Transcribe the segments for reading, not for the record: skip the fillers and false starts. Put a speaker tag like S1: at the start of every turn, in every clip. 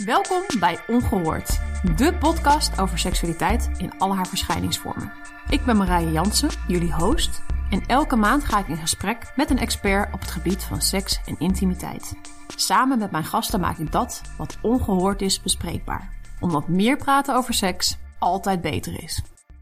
S1: Welkom bij Ongehoord, de podcast over seksualiteit in al haar verschijningsvormen. Ik ben Marije Jansen, jullie host, en elke maand ga ik in gesprek met een expert op het gebied van seks en intimiteit. Samen met mijn gasten maak ik dat wat ongehoord is bespreekbaar, omdat meer praten over seks altijd beter is.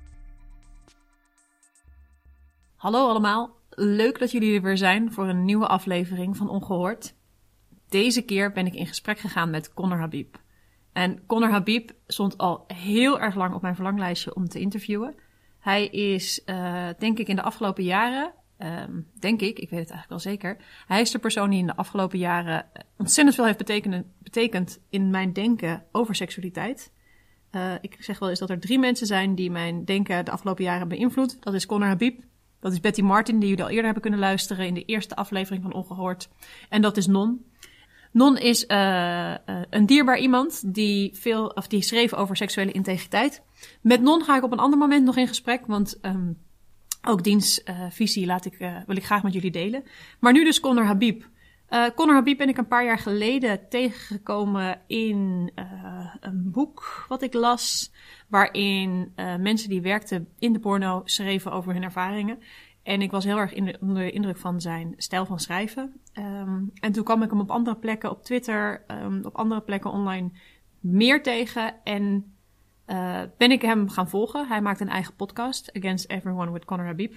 S1: Hallo allemaal, leuk dat jullie er weer zijn voor een nieuwe aflevering van Ongehoord. Deze keer ben ik in gesprek gegaan met Conor Habib. En Conor Habib stond al heel erg lang op mijn verlanglijstje om te interviewen. Hij is, denk ik, in de afgelopen jaren, ik weet het eigenlijk wel zeker. Hij is de persoon die in de afgelopen jaren ontzettend veel heeft betekend in mijn denken over seksualiteit. Ik zeg wel eens dat er 3 mensen zijn die mijn denken de afgelopen jaren hebben beïnvloed. Dat is Conor Habib, dat is Betty Martin, die jullie al eerder hebben kunnen luisteren in de eerste aflevering van Ongehoord. En dat is Non. Non is een dierbaar iemand die schreef over seksuele integriteit. Met Non ga ik op een ander moment nog in gesprek, want ook diens visie wil ik graag met jullie delen. Maar nu dus Conor Habib. Conor Habib ben ik een paar jaar geleden tegengekomen in een boek wat ik las, waarin mensen die werkten in de porno schreven over hun ervaringen. En ik was heel erg onder de indruk van zijn stijl van schrijven. En toen kwam ik hem op andere plekken op Twitter, op andere plekken online meer tegen. En ben ik hem gaan volgen. Hij maakt een eigen podcast, Against Everyone with Conor Habib.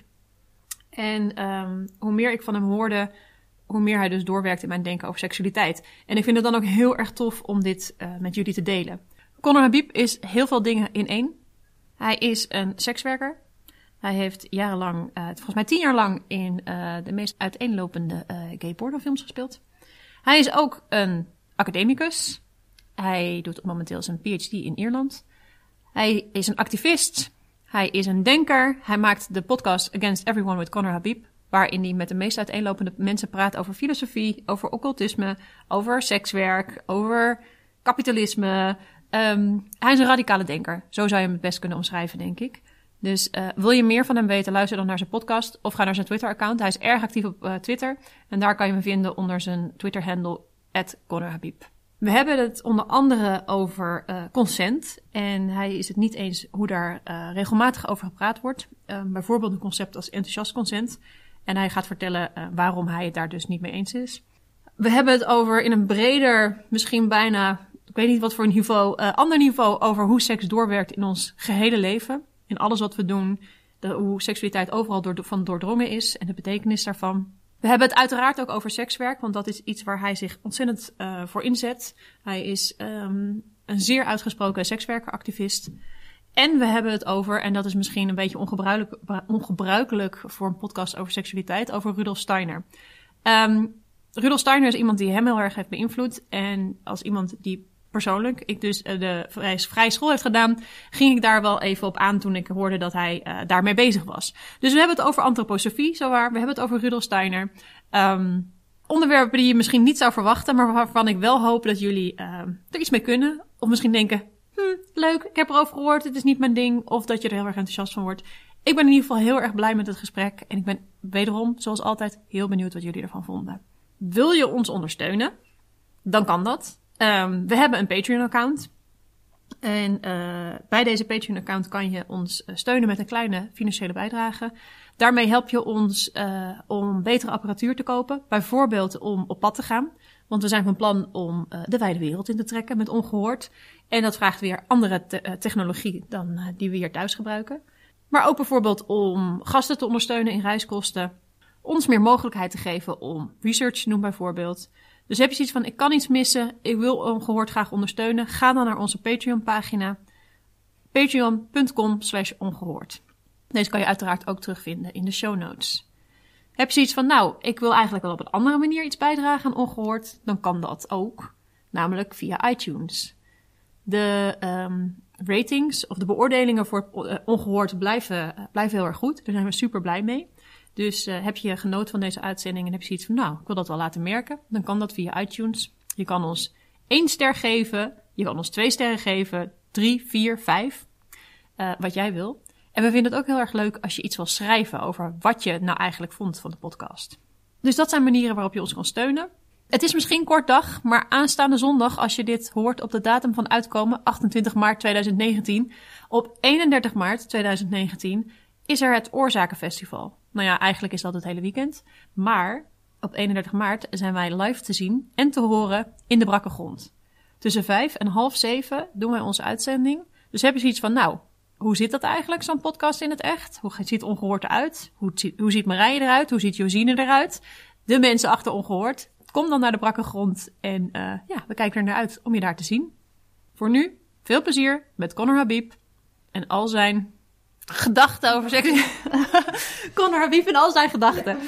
S1: En hoe meer ik van hem hoorde, hoe meer hij dus doorwerkt in mijn denken over seksualiteit. En ik vind het dan ook heel erg tof om dit met jullie te delen. Conor Habib is heel veel dingen in één. Hij is een sekswerker. Hij heeft jarenlang, volgens mij 10 jaar lang, in de meest uiteenlopende gay pornofilms gespeeld. Hij is ook een academicus. Hij doet momenteel zijn PhD in Ierland. Hij is een activist. Hij is een denker. Hij maakt de podcast Against Everyone with Conor Habib, waarin hij met de meest uiteenlopende mensen praat over filosofie, over occultisme, over sekswerk, over kapitalisme. Hij is een radicale denker. Zo zou je hem het best kunnen omschrijven, denk ik. Dus wil je meer van hem weten, luister dan naar zijn podcast of ga naar zijn Twitter-account. Hij is erg actief op Twitter en daar kan je hem vinden onder zijn Twitter-handle @ConorHabib. We hebben het onder andere over consent en hij is het niet eens hoe daar regelmatig over gepraat wordt. Bijvoorbeeld een concept als enthousiast consent. En hij gaat vertellen waarom hij het daar dus niet mee eens is. We hebben het over in een breder, misschien bijna, ik weet niet wat voor een niveau, ander niveau over hoe seks doorwerkt in ons gehele leven. In alles wat we doen, hoe seksualiteit overal van doordrongen is en de betekenis daarvan. We hebben het uiteraard ook over sekswerk, want dat is iets waar hij zich ontzettend voor inzet. Hij is een zeer uitgesproken sekswerkeractivist. En we hebben het over, en dat is misschien een beetje ongebruikelijk voor een podcast over seksualiteit, over Rudolf Steiner. Rudolf Steiner is iemand die hem heel erg heeft beïnvloed. En als iemand die persoonlijk, ik dus de vrije school heeft gedaan, ging ik daar wel even op aan toen ik hoorde dat hij daarmee bezig was. Dus we hebben het over antroposofie, zowaar. We hebben het over Rudolf Steiner. Onderwerpen die je misschien niet zou verwachten, maar waarvan ik wel hoop dat jullie er iets mee kunnen. Of misschien denken, leuk, ik heb erover gehoord, het is niet mijn ding. Of dat je er heel erg enthousiast van wordt. Ik ben in ieder geval heel erg blij met het gesprek. En ik ben wederom, zoals altijd, heel benieuwd wat jullie ervan vonden. Wil je ons ondersteunen? Dan kan dat. We hebben een Patreon-account. En bij deze Patreon-account kan je ons steunen met een kleine financiële bijdrage. Daarmee help je ons om betere apparatuur te kopen. Bijvoorbeeld om op pad te gaan. Want we zijn van plan om de wijde wereld in te trekken met Ongehoord. En dat vraagt weer andere technologie dan die we hier thuis gebruiken. Maar ook bijvoorbeeld om gasten te ondersteunen in reiskosten. Ons meer mogelijkheid te geven om research te doen bijvoorbeeld. Dus heb je zoiets van, ik kan iets missen, ik wil Ongehoord graag ondersteunen. Ga dan naar onze Patreon-pagina. Patreon.com/ongehoord. Deze kan je uiteraard ook terugvinden in de show notes. Heb je zoiets van, ik wil eigenlijk wel op een andere manier iets bijdragen aan Ongehoord, dan kan dat ook. Namelijk via iTunes. De ratings of de beoordelingen voor Ongehoord blijven heel erg goed. Daar zijn we super blij mee. Dus heb je genoten van deze uitzending en heb je zoiets van, ik wil dat wel laten merken. Dan kan dat via iTunes. Je kan ons 1 ster geven. Je kan ons 2 sterren geven. 3, 4, 5. Wat jij wil. En we vinden het ook heel erg leuk als je iets wil schrijven over wat je nou eigenlijk vond van de podcast. Dus dat zijn manieren waarop je ons kan steunen. Het is misschien kort dag, maar aanstaande zondag, als je dit hoort op de datum van uitkomen, 28 maart 2019, op 31 maart 2019 is er het Oorzakenfestival. Nou ja, eigenlijk is dat het hele weekend. Maar op 31 maart zijn wij live te zien en te horen in de Brakke Grond. Tussen 5 en half 7 doen wij onze uitzending. Dus heb je zoiets van, nou, hoe zit dat eigenlijk, zo'n podcast in het echt? Hoe ziet Ongehoord eruit? Hoe ziet Marije eruit? Hoe ziet Josine eruit? De mensen achter Ongehoord. Kom dan naar de Brakke Grond en we kijken er naar uit om je daar te zien. Voor nu, veel plezier met Connor Habib en al zijn gedachten over seks. Connor Habib en al zijn gedachten.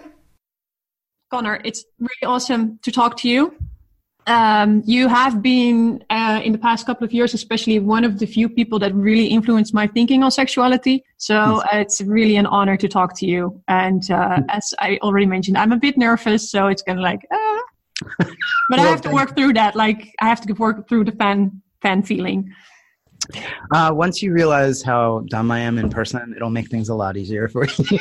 S1: Connor, it's really awesome to talk to you. You have been, in the past couple of years, especially one of the few people that really influenced my thinking on sexuality. So it's really an honor to talk to you. And as I already mentioned, I'm a bit nervous, so it's kind of like, but I have to work through that. Like, I have to work through the fan feeling.
S2: Once you realize how dumb I am in person, it'll make things a lot easier for you.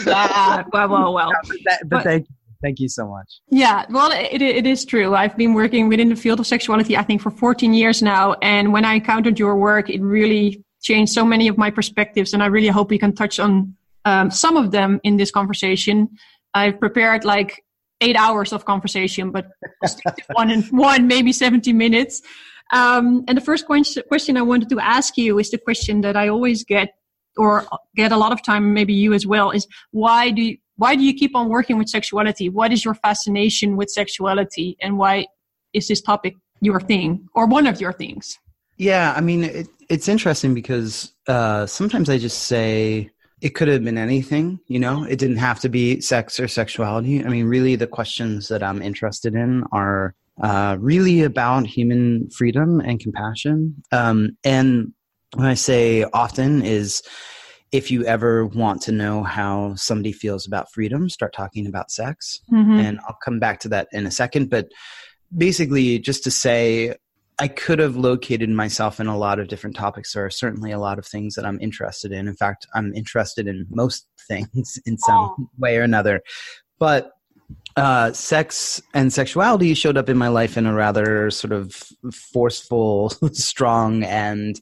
S1: Well.
S2: But thank you so much.
S1: Yeah, well, it is true. I've been working within the field of sexuality, I think, for 14 years now. And when I encountered your work, it really changed so many of my perspectives. And I really hope we can touch on some of them in this conversation. I've prepared like 8 hours of conversation, but I'll stick to one, maybe 70 minutes. And the first question I wanted to ask you is the question that I always get, or get a lot of time, maybe you as well, is why do you keep on working with sexuality? What is your fascination with sexuality? And why is this topic your thing, or one of your things?
S2: Yeah, I mean, it's interesting because sometimes I just say it could have been anything, you know? It didn't have to be sex or sexuality. I mean, really the questions that I'm interested in are really about human freedom and compassion. And when I say often is, if you ever want to know how somebody feels about freedom, start talking about sex. Mm-hmm. And I'll come back to that in a second. But basically, just to say, I could have located myself in a lot of different topics. There are certainly a lot of things that I'm interested in. In fact, I'm interested in most things in some way or another. But sex and sexuality showed up in my life in a rather sort of forceful, strong, and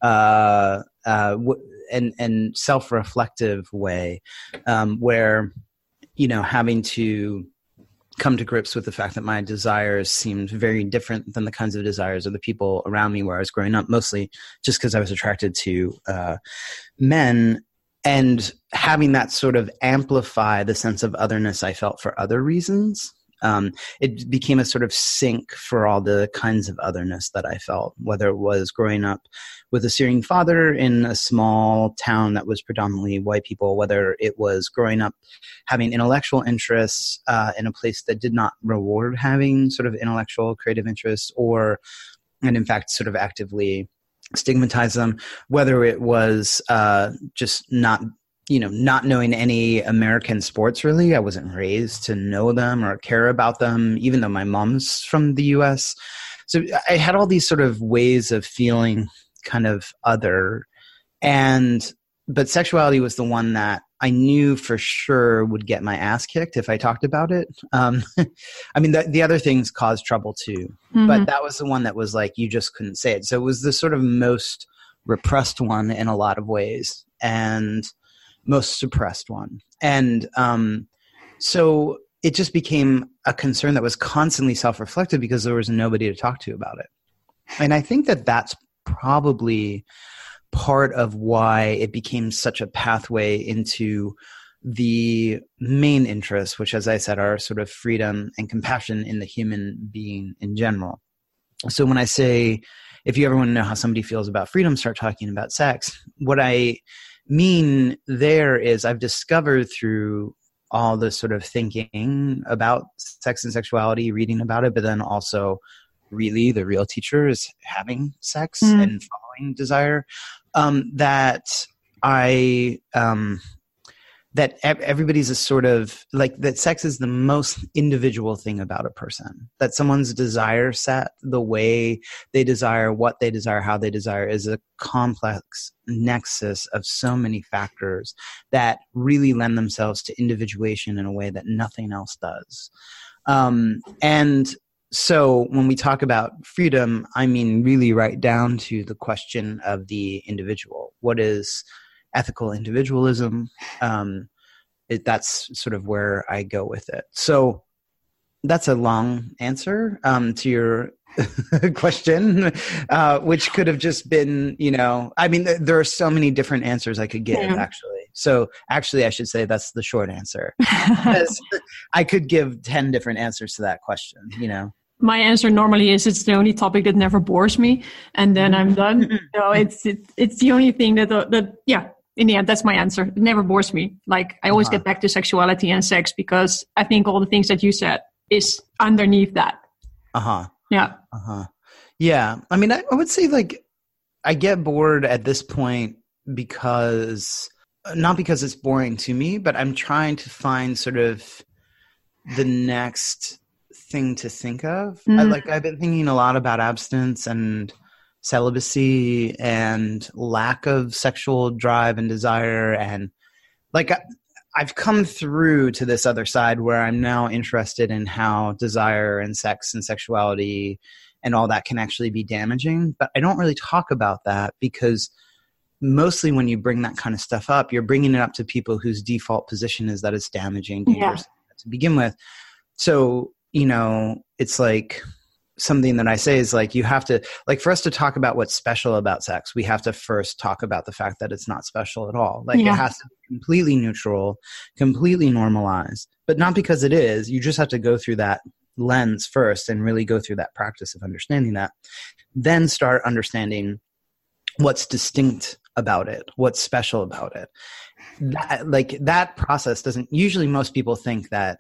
S2: self-reflective way, where, you know, having to come to grips with the fact that my desires seemed very different than the kinds of desires of the people around me where I was growing up, mostly just because I was attracted to men. And having that sort of amplify the sense of otherness I felt for other reasons, it became a sort of sink for all the kinds of otherness that I felt, whether it was growing up with a Syrian father in a small town that was predominantly white people, whether it was growing up having intellectual interests in a place that did not reward having sort of intellectual creative interests, and in fact sort of actively stigmatize them, whether it was just not knowing any American sports really. I wasn't raised to know them or care about them, even though my mom's from the US. So I had all these sort of ways of feeling kind of other. But sexuality was the one that I knew for sure would get my ass kicked if I talked about it. I mean, the other things caused trouble too, mm-hmm. but that was the one that was like, you just couldn't say it. So it was the sort of most repressed one in a lot of ways and most suppressed one. And so it just became a concern that was constantly self-reflective because there was nobody to talk to about it. And I think that that's probably part of why it became such a pathway into the main interests, which, as I said, are sort of freedom and compassion in the human being in general. So when I say, if you ever want to know how somebody feels about freedom, start talking about sex, what I mean there is I've discovered through all the sort of thinking about sex and sexuality, reading about it, but then also really the real teacher is having sex and following desire, that that everybody's a sort of like that sex is the most individual thing about a person, that someone's desire set, the way they desire, what they desire, how they desire is a complex nexus of so many factors that really lend themselves to individuation in a way that nothing else does. And so when we talk about freedom, I mean really right down to the question of the individual. What is ethical individualism? That's sort of where I go with it. So that's a long answer to your question, which could have just been, I mean, there are so many different answers I could give, actually. So actually, I should say that's the short answer. Because I could give 10 different answers to that question,
S1: My answer normally is it's the only topic that never bores me, and then I'm done. So it's the only thing that in the end, that's my answer. It never bores me. Like I always get back to sexuality and sex because I think all the things that you said is underneath that. Yeah.
S2: Yeah. I mean, I would say like I get bored at this point because not because it's boring to me, but I'm trying to find sort of the next thing to think of. I've been thinking a lot about abstinence and celibacy and lack of sexual drive and desire. And like, I've come through to this other side where I'm now interested in how desire and sex and sexuality and all that can actually be damaging. But I don't really talk about that because mostly when you bring that kind of stuff up, you're bringing it up to people whose default position is that it's damaging, dangerous to begin with. So, it's like something that I say is like, you have to, like for us to talk about what's special about sex, we have to first talk about the fact that it's not special at all. Like it has to be completely neutral, completely normalized, but not because it is. You just have to go through that lens first and really go through that practice of understanding that. Then start understanding what's distinct about it, what's special about it. That process doesn't, usually most people think that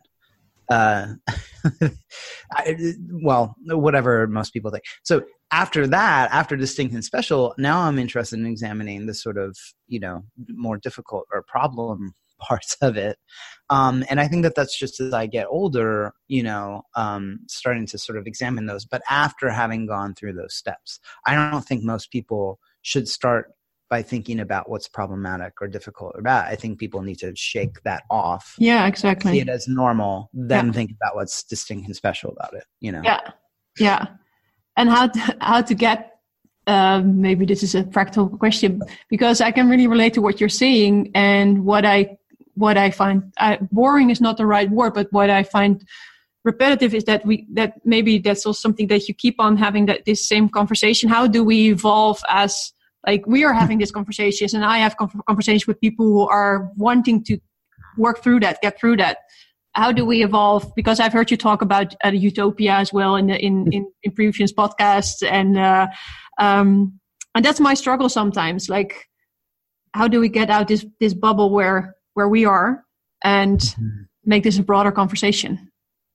S2: whatever most people think. So after that, after distinct and special, now I'm interested in examining the sort of, more difficult or problem parts of it. And I think that that's just as I get older, starting to sort of examine those. But after having gone through those steps, I don't think most people should start by thinking about what's problematic or difficult or bad. I think people need to shake that off.
S1: Yeah, exactly.
S2: See it as normal, then think about what's distinct and special about it,
S1: Yeah. And how to get, maybe this is a practical question, because I can really relate to what you're saying and what I find, boring is not the right word, but what I find repetitive is that maybe that's also something that you keep on having this same conversation. How do we evolve as, like we are having these conversations and I have conversations with people who are wanting to work through that, get through that. How do we evolve? Because I've heard you talk about utopia as well in previous podcasts. And that's my struggle sometimes. Like, how do we get out this bubble where we are and make this a broader conversation?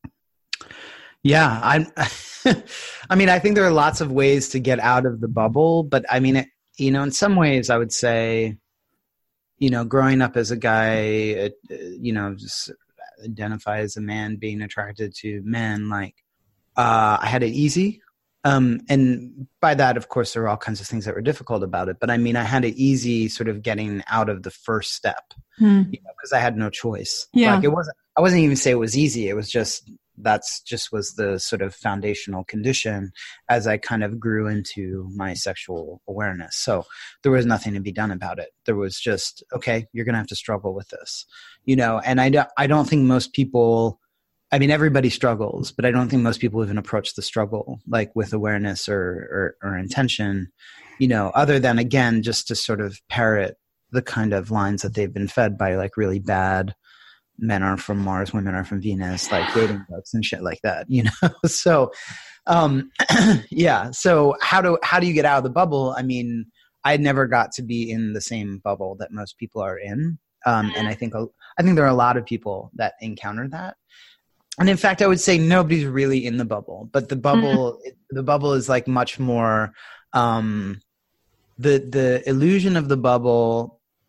S2: Yeah. I mean, I think there are lots of ways to get out of the bubble, but I mean, in some ways I would say, growing up as a guy, just identify as a man being attracted to men, like, I had it easy. And by that, of course, there were all kinds of things that were difficult about it. But I mean, I had it easy sort of getting out of the first step, because I had no choice.
S1: Yeah.
S2: Like I wasn't even say it was easy. It was just, was the sort of foundational condition as I kind of grew into my sexual awareness. So there was nothing to be done about it. There was just, okay, you're going to have to struggle with this, and I don't think most people, I mean, everybody struggles, but I don't think most people even approach the struggle like with awareness or intention, other than, again, just to sort of parrot the kind of lines that they've been fed by like really bad men are from Mars, women are from Venus, like dating books and shit like that, So, yeah. So how do you get out of the bubble? I mean, I never got to be in the same bubble that most people are in. And I think there are a lot of people that encounter that. And in fact, I would say nobody's really in the bubble, but the bubble is like much more, the illusion of the bubble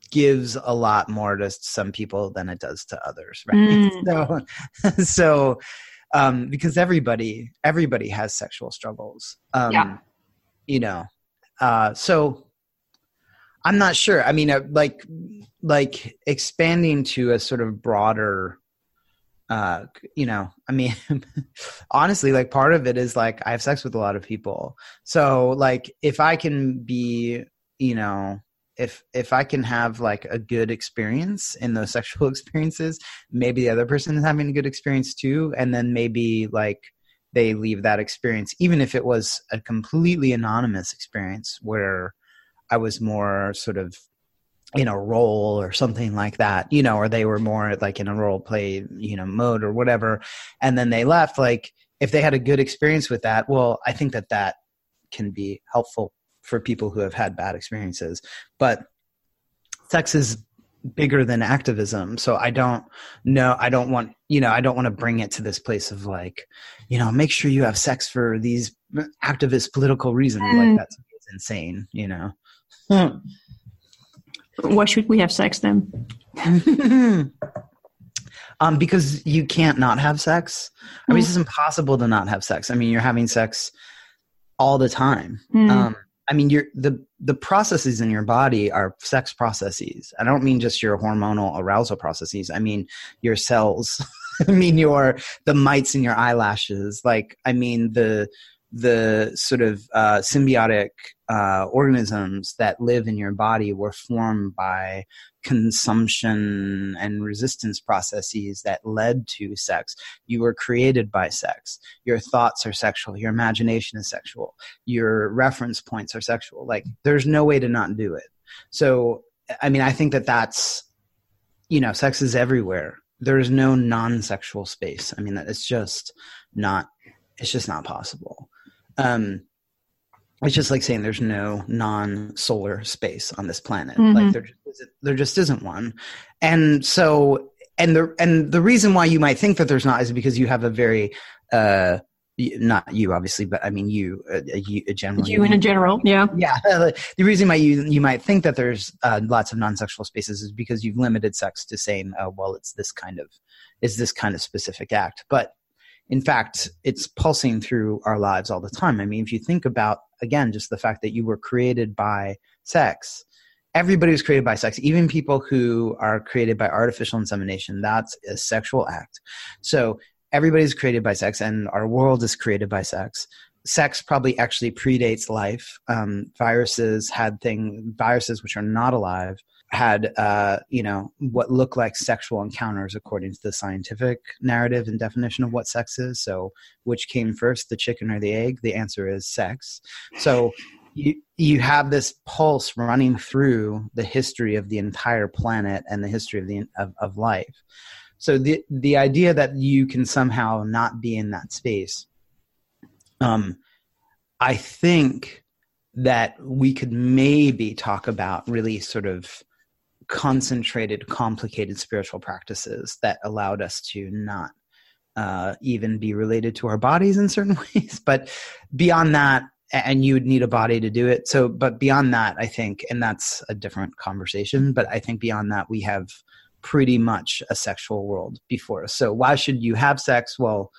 S2: gives a lot more to some people than it does to others, right? So because everybody has sexual struggles, you know, so I'm not sure. I mean, like expanding to a sort of broader, you know, I mean, honestly, like part of it is like I have sex with a lot of people. So like if I can be, you know, if I can have like a good experience in those sexual experiences, maybe the other person is having a good experience too. And then maybe like they leave that experience, even if it was a completely anonymous experience where I was more sort of in a role or something like that, you know, or they were more like in a role play, you know, mode or whatever. And then they left, like if they had a good experience with that, well, I think that can be helpful for people who have had bad experiences. But sex is bigger than activism. So I don't want to bring it to this place of like, you know, make sure you have sex for these activist political reasons. Like that's insane, you know.
S1: Why should we have sex then?
S2: Because you can't not have sex. I mean, it's just impossible to not have sex. I mean, you're having sex all the time. I mean, the processes in your body are sex processes. I don't mean just your hormonal arousal processes. I mean your cells. I mean the mites in your eyelashes. Like, I mean the sort of symbiotic organisms that live in your body were formed by consumption and resistance processes that led to sex. You were created by sex. Your thoughts are sexual. Your imagination is sexual. Your reference points are sexual. Like, there's no way to not do it. So, I mean, I think that's, you know, sex is everywhere. There's no non-sexual space. I mean, it's just not possible. It's just like saying there's no non-solar space on this planet. Like there just isn't one. And so, and the reason why you might think that there's not is because you have a very, not you obviously, but I mean you generally.
S1: You in a general, yeah.
S2: Yeah. The reason why you might think that there's lots of non-sexual spaces is because you've limited sex to saying, oh, well, it's this kind of specific act. But in fact, it's pulsing through our lives all the time. I mean, if you think about, again, just the fact that you were created by sex, everybody was created by sex, even people who are created by artificial insemination, that's a sexual act. So everybody's created by sex, and our world is created by sex. Sex probably actually predates life. Viruses which are not alive had, what look like sexual encounters according to the scientific narrative and definition of what sex is. So which came first, the chicken or the egg? The answer is sex. So you have this pulse running through the history of the entire planet and the history of life. So the idea that you can somehow not be in that space, I think that we could maybe talk about really sort of concentrated, complicated spiritual practices that allowed us to not even be related to our bodies in certain ways. But beyond that, and you would need a body to do it. So, but beyond that, I think, and that's a different conversation, but I think beyond that, we have pretty much a sexual world before us. So why should you have sex? Well,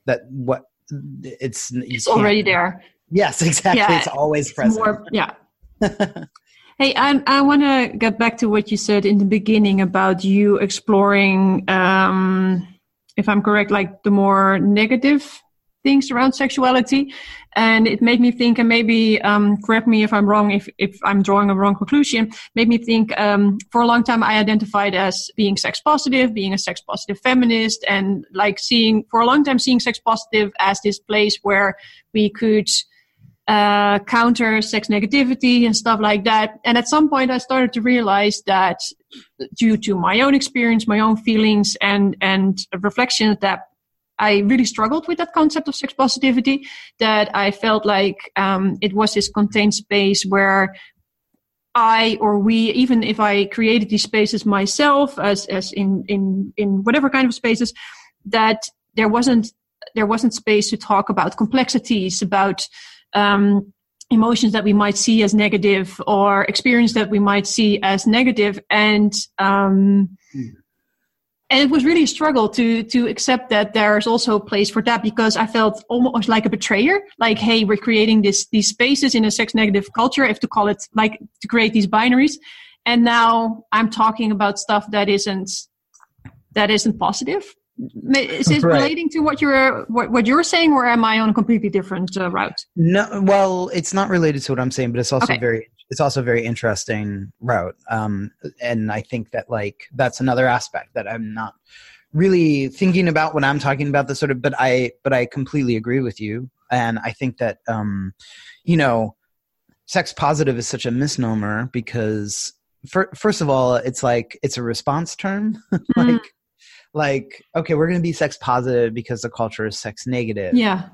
S2: it's
S1: already there.
S2: Yes, exactly. Yeah, it's always present.
S1: Hey, I want to get back to what you said in the beginning about you exploring, if I'm correct, like the more negative things around sexuality. And it made me think, and maybe correct me if I'm wrong, if I'm drawing a wrong conclusion, made me think for a long time I identified as being sex positive, being a sex positive feminist, and like seeing sex positive as this place where we could counter sex negativity and stuff like that. And at some point I started to realize that due to my own experience, my own feelings and reflections, that I really struggled with that concept of sex positivity, that I felt like it was this contained space where I or we, even if I created these spaces myself as in whatever kind of spaces, that there wasn't space to talk about complexities, about emotions that we might see as negative or experience that we might see as negative. And it was really a struggle to accept that there's also a place for that, because I felt almost like a betrayer. Like, hey, we're creating these spaces in a sex negative culture, if to call it, like, to create these binaries. And now I'm talking about stuff that isn't positive. Is it
S2: Right.
S1: relating to what you're saying, or am I on a completely different route?
S2: No, well, it's not related to what I'm saying, but it's also
S1: Okay.
S2: it's also a very interesting route. And I think that, like, that's another aspect that I'm not really thinking about when I'm talking about this sort of, but I completely agree with you. And I think that, sex positive is such a misnomer because first of all, it's like, it's a response term. Like, okay, we're going to be sex positive because the culture is sex negative.
S1: Yeah.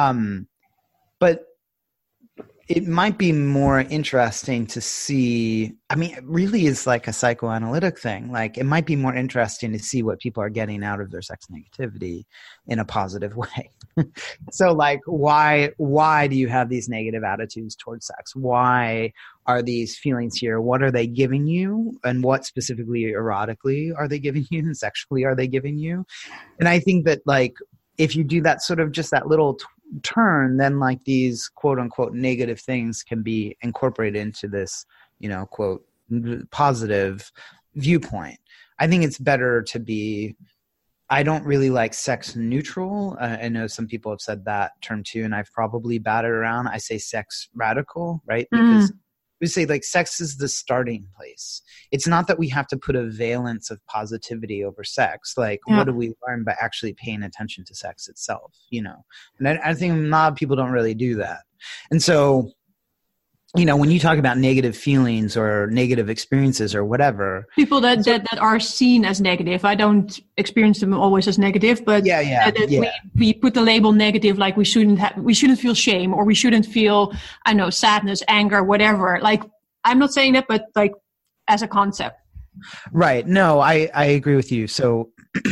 S2: But it might be more interesting to see, I mean, it really is like a psychoanalytic thing. Like, it might be more interesting to see what people are getting out of their sex negativity in a positive way. So, like, why do you have these negative attitudes towards sex? Why are these feelings here? What are they giving you? And what specifically erotically are they giving you? And sexually are they giving you? And I think that, like, if you do that sort of just that little turn, then, like, these quote unquote negative things can be incorporated into this, quote, positive viewpoint. I think it's better to be, I don't really like sex neutral. I know some people have said that term too, and I've probably batted around. I say sex radical, right? Because we say, like, sex is the starting place. It's not that we have to put a valence of positivity over sex. Like, what do we learn by actually paying attention to sex itself, And I think a lot of people don't really do that. And so, when you talk about negative feelings or negative experiences or whatever,
S1: people that are seen as negative, I don't experience them always as negative, but we put the label negative, like we shouldn't feel shame, or we shouldn't feel, I know, sadness, anger, whatever. Like, I'm not saying that, but, like, as a concept.
S2: Right. No, I agree with you. So,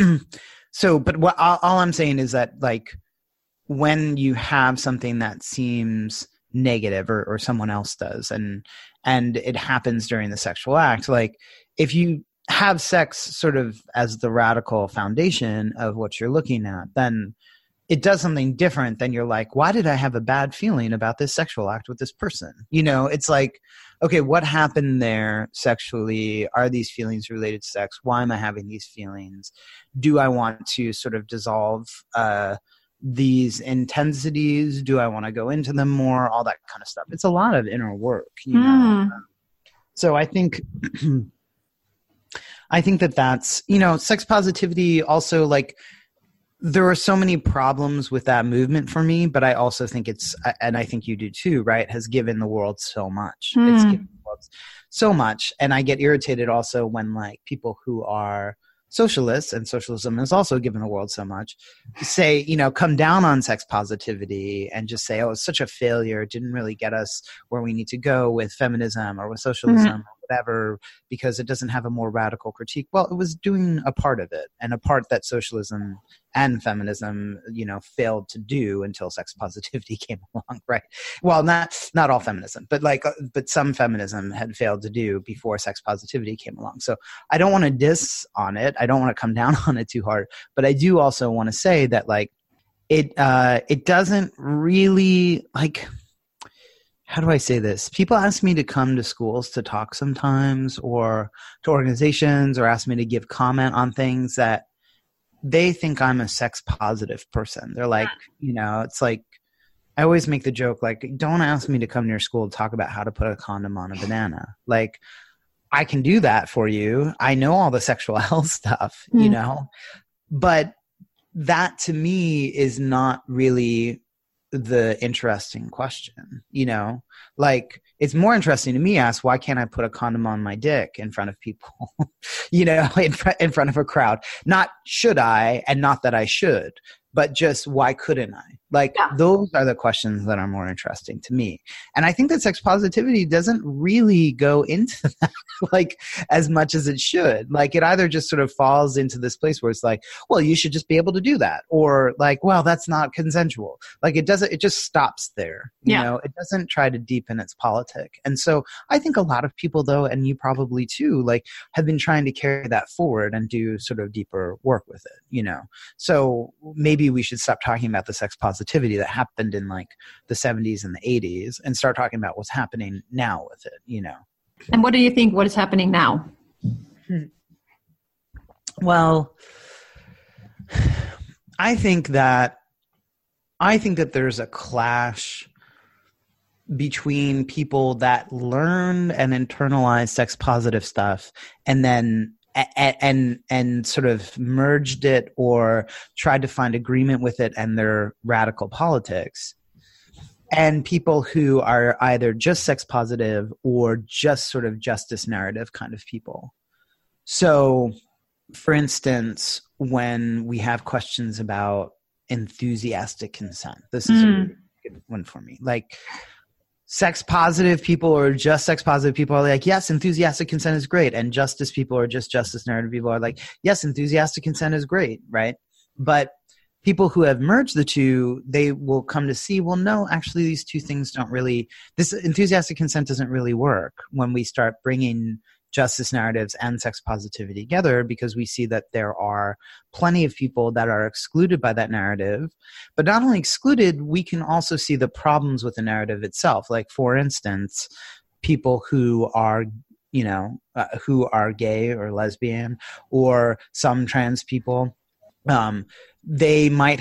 S2: but what all I'm saying is that, like, when you have something that seems negative or someone else does, and it happens during the sexual act, like, if you have sex sort of as the radical foundation of what you're looking at, then it does something different than you're like, why did I have a bad feeling about this sexual act with this person? It's like, okay, what happened there sexually? Are these feelings related to sex? Why am I having these feelings? Do I want to sort of dissolve these intensities? Do I want to go into them more? All that kind of stuff. It's a lot of inner work, So I think that's, sex positivity also, like, there are so many problems with that movement for me, but I also think it's, and I think you do too, right, has given the world so much. It's given the world so much. And I get irritated also when, like, people who are socialists, and socialism has also given the world so much, say, come down on sex positivity and just say, oh, it's such a failure. It didn't really get us where we need to go with feminism or with socialism or whatever, because it doesn't have a more radical critique. Well, it was doing a part of it, and a part that socialism and feminism, failed to do until sex positivity came along, right? Well, not all feminism, but some feminism had failed to do before sex positivity came along. So I don't want to diss on it. I don't want to come down on it too hard, but I do also want to say that, like, it doesn't really, like, how do I say this? People ask me to come to schools to talk sometimes, or to organizations, or ask me to give comment on things that they think I'm a sex positive person. They're like, it's like, I always make the joke, like, don't ask me to come to your school to talk about how to put a condom on a banana. Like, I can do that for you. I know all the sexual health stuff, but that to me is not really the interesting question, like, it's more interesting to me ask, why can't I put a condom on my dick in front of people, in front of a crowd? Not should I, and not that I should, but just why couldn't I? Like, those are the questions that are more interesting to me. And I think that sex positivity doesn't really go into that, like, as much as it should. Like, it either just sort of falls into this place where it's like, well, you should just be able to do that. Or like, well, that's not consensual. Like, it just stops there. You know, it doesn't try to deepen its politic. And so I think a lot of people, though, and you probably too, like, have been trying to carry that forward and do sort of deeper work with it, you know? So maybe we should stop talking about the sex positivity that happened in like the 70s and the 80s and start talking about what's happening now with it, you know.
S1: And what do you think what is happening now?
S2: Well, I think that there's a clash between people that learn and internalize sex positive stuff and then and sort of merged it or tried to find agreement with it and their radical politics, and people who are either just sex positive or just sort of justice narrative kind of people. So, for instance, when we have questions about enthusiastic consent, this is a really good one for me. Like, sex positive people or just sex positive people are like, yes, enthusiastic consent is great. And justice people or just justice narrative people are like, yes, enthusiastic consent is great, right? But people who have merged the two, they will come to see, well, no, actually these two things don't really, this enthusiastic consent doesn't really work when we start bringing justice narratives and sex positivity together, because we see that there are plenty of people that are excluded by that narrative. But not only excluded, we can also see the problems with the narrative itself. Like, for instance, people who are, you know, who are gay or lesbian, or some trans people, they might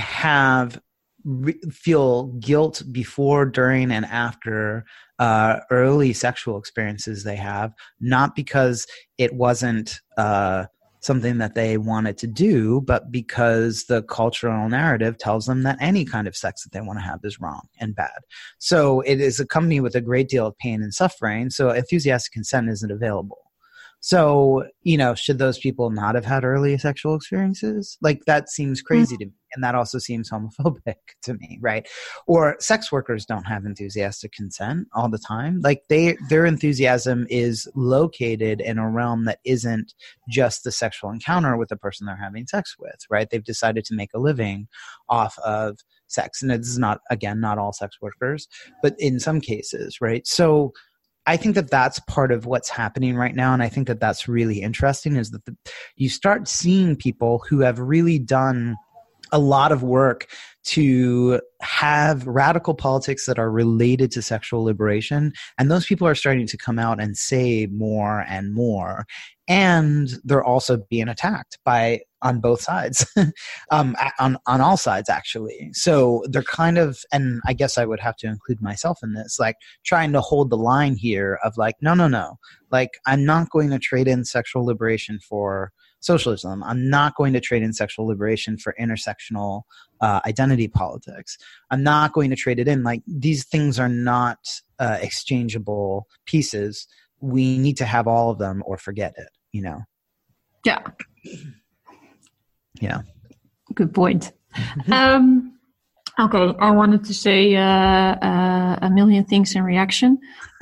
S2: feel guilt before, during, and after early sexual experiences they have, not because it wasn't something that they wanted to do, but because the cultural narrative tells them that any kind of sex that they want to have is wrong and bad. So it is accompanied with a great deal of pain and suffering. So enthusiastic consent isn't available. So, you know, should those people not have had early sexual experiences? Like, that seems crazy to me. And that also seems homophobic to me, right? Or sex workers don't have enthusiastic consent all the time. Like, their enthusiasm is located in a realm that isn't just the sexual encounter with the person they're having sex with, right? They've decided to make a living off of sex. And it's not, again, not all sex workers, but in some cases, right? So I think that that's part of what's happening right now. And I think that that's really interesting, is that you start seeing people who have really done a lot of work to have radical politics that are related to sexual liberation. And those people are starting to come out and say more and more. And they're also being attacked on both sides, on all sides, actually. So they're kind of, and I guess I would have to include myself in this, like trying to hold the line here of like, no. Like, I'm not going to trade in sexual liberation for socialism. I'm not going to trade in sexual liberation for intersectional identity politics. I'm not going to trade it in. Like, these things are not exchangeable pieces. We need to have all of them or forget it, you know?
S1: Yeah.
S2: Yeah.
S1: Good point. Okay, I wanted to say a million things in reaction.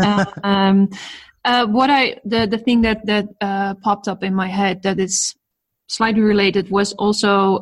S1: The thing that popped up in my head that is slightly related was also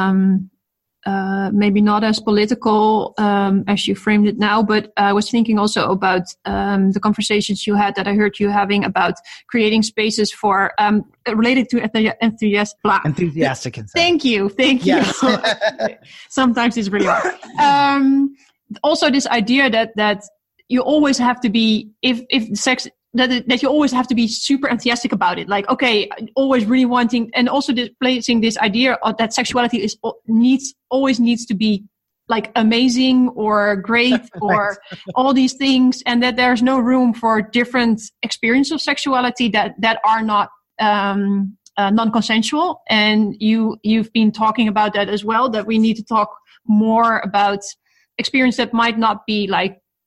S1: maybe not as political as you framed it now, but I was thinking also about the conversations you had that I heard you having about creating spaces for related to enthusiastic consent. Thank you.
S2: Yes.
S1: Sometimes it's really hard. Also, this idea that you always have to be if sex. That you always have to be super enthusiastic about it. Like, okay, always really wanting, and also displacing this idea of that sexuality always needs to be like amazing or great or all these things, and that there's no room for different experiences of sexuality that are not non-consensual. And you've been talking about that as well, that we need to talk more about experience that might not be like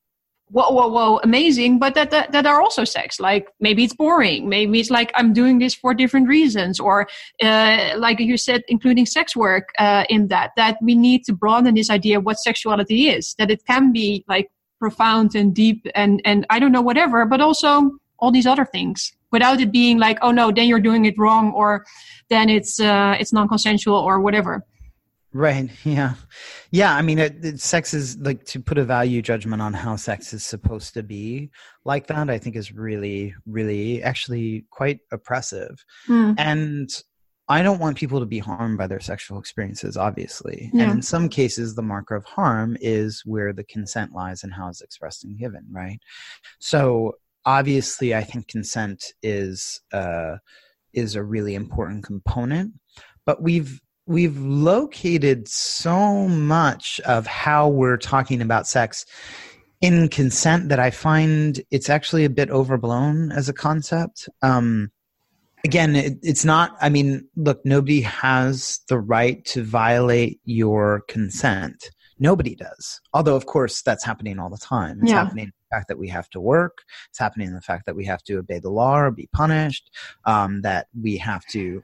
S1: whoa, amazing, but that are also sex. Like maybe it's boring. Maybe it's like I'm doing this for different reasons, or like you said, including sex work in that we need to broaden this idea of what sexuality is, that it can be like profound and deep and I don't know, whatever, but also all these other things without it being like, oh no, then you're doing it wrong, or then it's non-consensual or whatever.
S2: Right. Yeah. Yeah. I mean, sex is like, to put a value judgment on how sex is supposed to be like that, I think is really, really actually quite oppressive. And I don't want people to be harmed by their sexual experiences, obviously. Yeah. And in some cases, the marker of harm is where the consent lies and how it's expressed and given. Right. So obviously, I think consent is a really important component, but we've located so much of how we're talking about sex in consent that I find it's actually a bit overblown as a concept. Again, it's not, I mean, look, nobody has the right to violate your consent. Nobody does. Although, of course, that's happening all the time. It's happening in the fact that we have to work. It's happening in the fact that we have to obey the law or be punished, that we have to,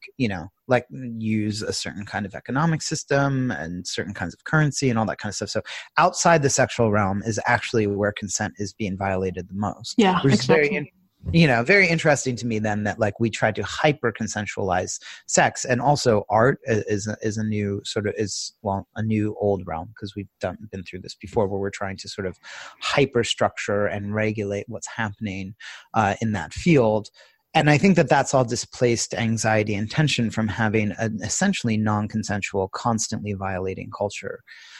S2: use a certain kind of economic system and certain kinds of currency and all that kind of stuff. So outside the sexual realm is actually where consent is being violated the most.
S1: Yeah, exactly.
S2: Very interesting to me then that like we try to hyper consensualize sex, and also art is a new sort of a new old realm, because we've been through this before, where we're trying to sort of hyper structure and regulate what's happening in that field. And I think that that's all displaced anxiety and tension from having an essentially non-consensual, constantly violating culture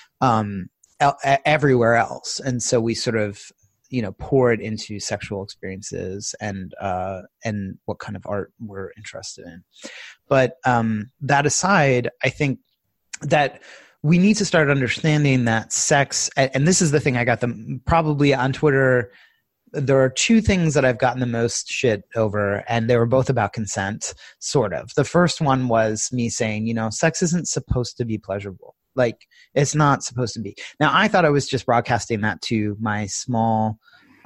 S2: everywhere else. And so we sort of pour it into sexual experiences and what kind of art we're interested in. But that aside, I think that we need to start understanding that sex, and this is the thing I got probably on Twitter. There are two things that I've gotten the most shit over, and they were both about consent, sort of. The first one was me saying, sex isn't supposed to be pleasurable. Like, it's not supposed to be. Now, I thought I was just broadcasting that to my small,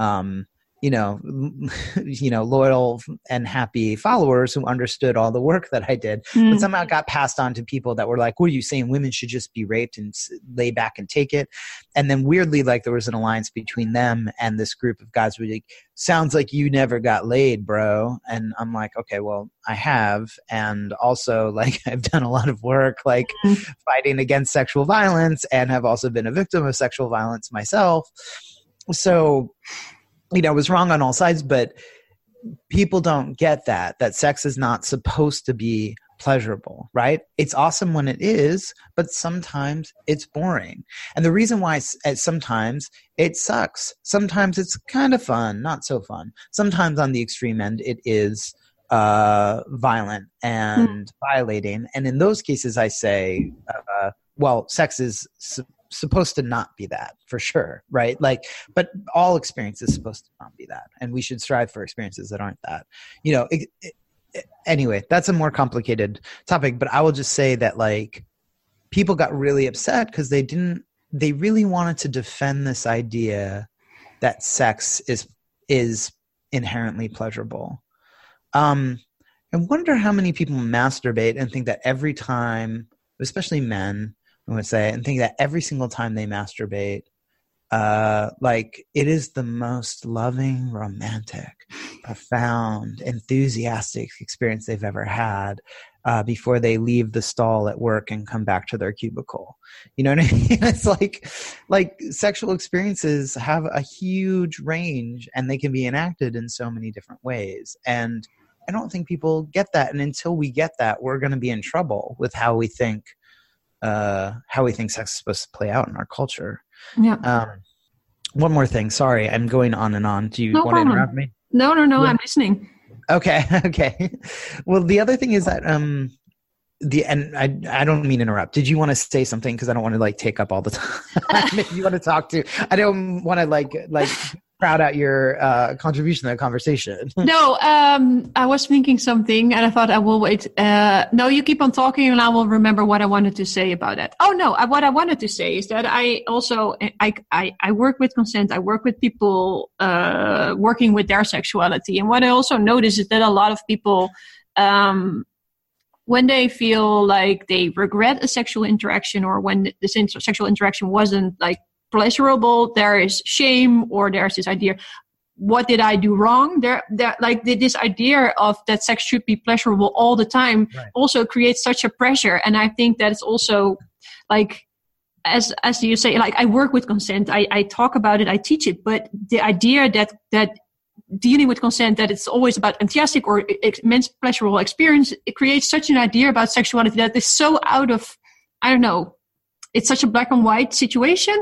S2: loyal and happy followers who understood all the work that I did, but somehow it got passed on to people that were like, what are you saying? Women should just be raped and lay back and take it. And then weirdly, like, there was an alliance between them and this group of guys who were like, sounds like you never got laid, bro. And I'm like, okay, well, I have. And also, like, I've done a lot of work, like fighting against sexual violence, and have also been a victim of sexual violence myself. So, I was wrong on all sides, but people don't get that sex is not supposed to be pleasurable, right? It's awesome when it is, but sometimes it's boring. And the reason why sometimes it sucks. Sometimes it's kind of fun, not so fun. Sometimes on the extreme end, it is violent and violating. And in those cases, I say, sex is supposed to not be that, for sure, right? Like, but all experience is supposed to not be that, and we should strive for experiences that aren't that. Anyway, that's a more complicated topic, but I will just say that, like, people got really upset because they really wanted to defend this idea that sex is inherently pleasurable. I wonder how many people masturbate and think that every time, especially men, I would say, and think that every single time they masturbate, like, it is the most loving, romantic, profound, enthusiastic experience they've ever had before they leave the stall at work and come back to their cubicle. You know what I mean? It's like sexual experiences have a huge range, and they can be enacted in so many different ways. And I don't think people get that. And until we get that, we're going to be in trouble with how we think sex is supposed to play out in our culture.
S1: Yeah.
S2: One more thing. Sorry, I'm going on and on. Do you want to interrupt me?
S1: No. Yeah. I'm listening.
S2: Okay. Well, the other thing is that I don't mean to interrupt. Did you want to say something? Because I don't want to, like, take up all the time. If you want to talk to, I don't want to like crowd out your contribution to the conversation.
S1: No, I was thinking something and I thought I will wait. No, you keep on talking and I will remember what I wanted to say about that. Oh no, what I wanted to say is that I also, I work with consent. I work with people working with their sexuality. And what I also notice is that a lot of people, when they feel like they regret a sexual interaction or when the sexual interaction wasn't like pleasurable, there is shame or there's this idea, what did I do wrong? There like this idea of that sex should be pleasurable all the time also creates such a pressure. And I think that it's also like, as you say, like I work with consent, I talk about it, I teach it, but the idea that dealing with consent, that it's always about enthusiastic or immense pleasurable experience, it creates such an idea about sexuality that is so out of, I don't know, it's such a black and white situation.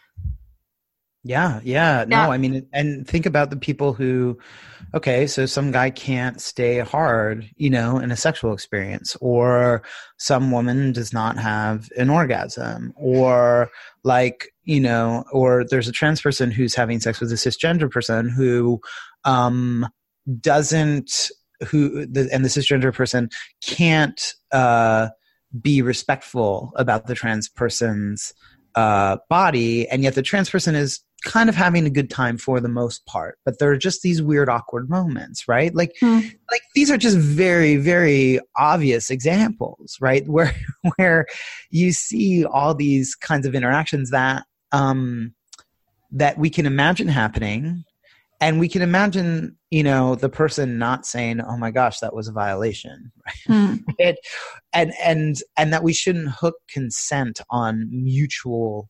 S2: Yeah. No, I mean, and think about the people who, okay, so some guy can't stay hard, in a sexual experience, or some woman does not have an orgasm, or like, or there's a trans person who's having sex with a cisgender person who doesn't, and the cisgender person can't be respectful about the trans person's body, and yet the trans person is kind of having a good time for the most part, but there are just these weird awkward moments, right? Like these are just very, very obvious examples, right? Where you see all these kinds of interactions that that we can imagine happening, and we can imagine the person not saying, oh my gosh, that was a violation, right? And that we shouldn't hook consent on mutually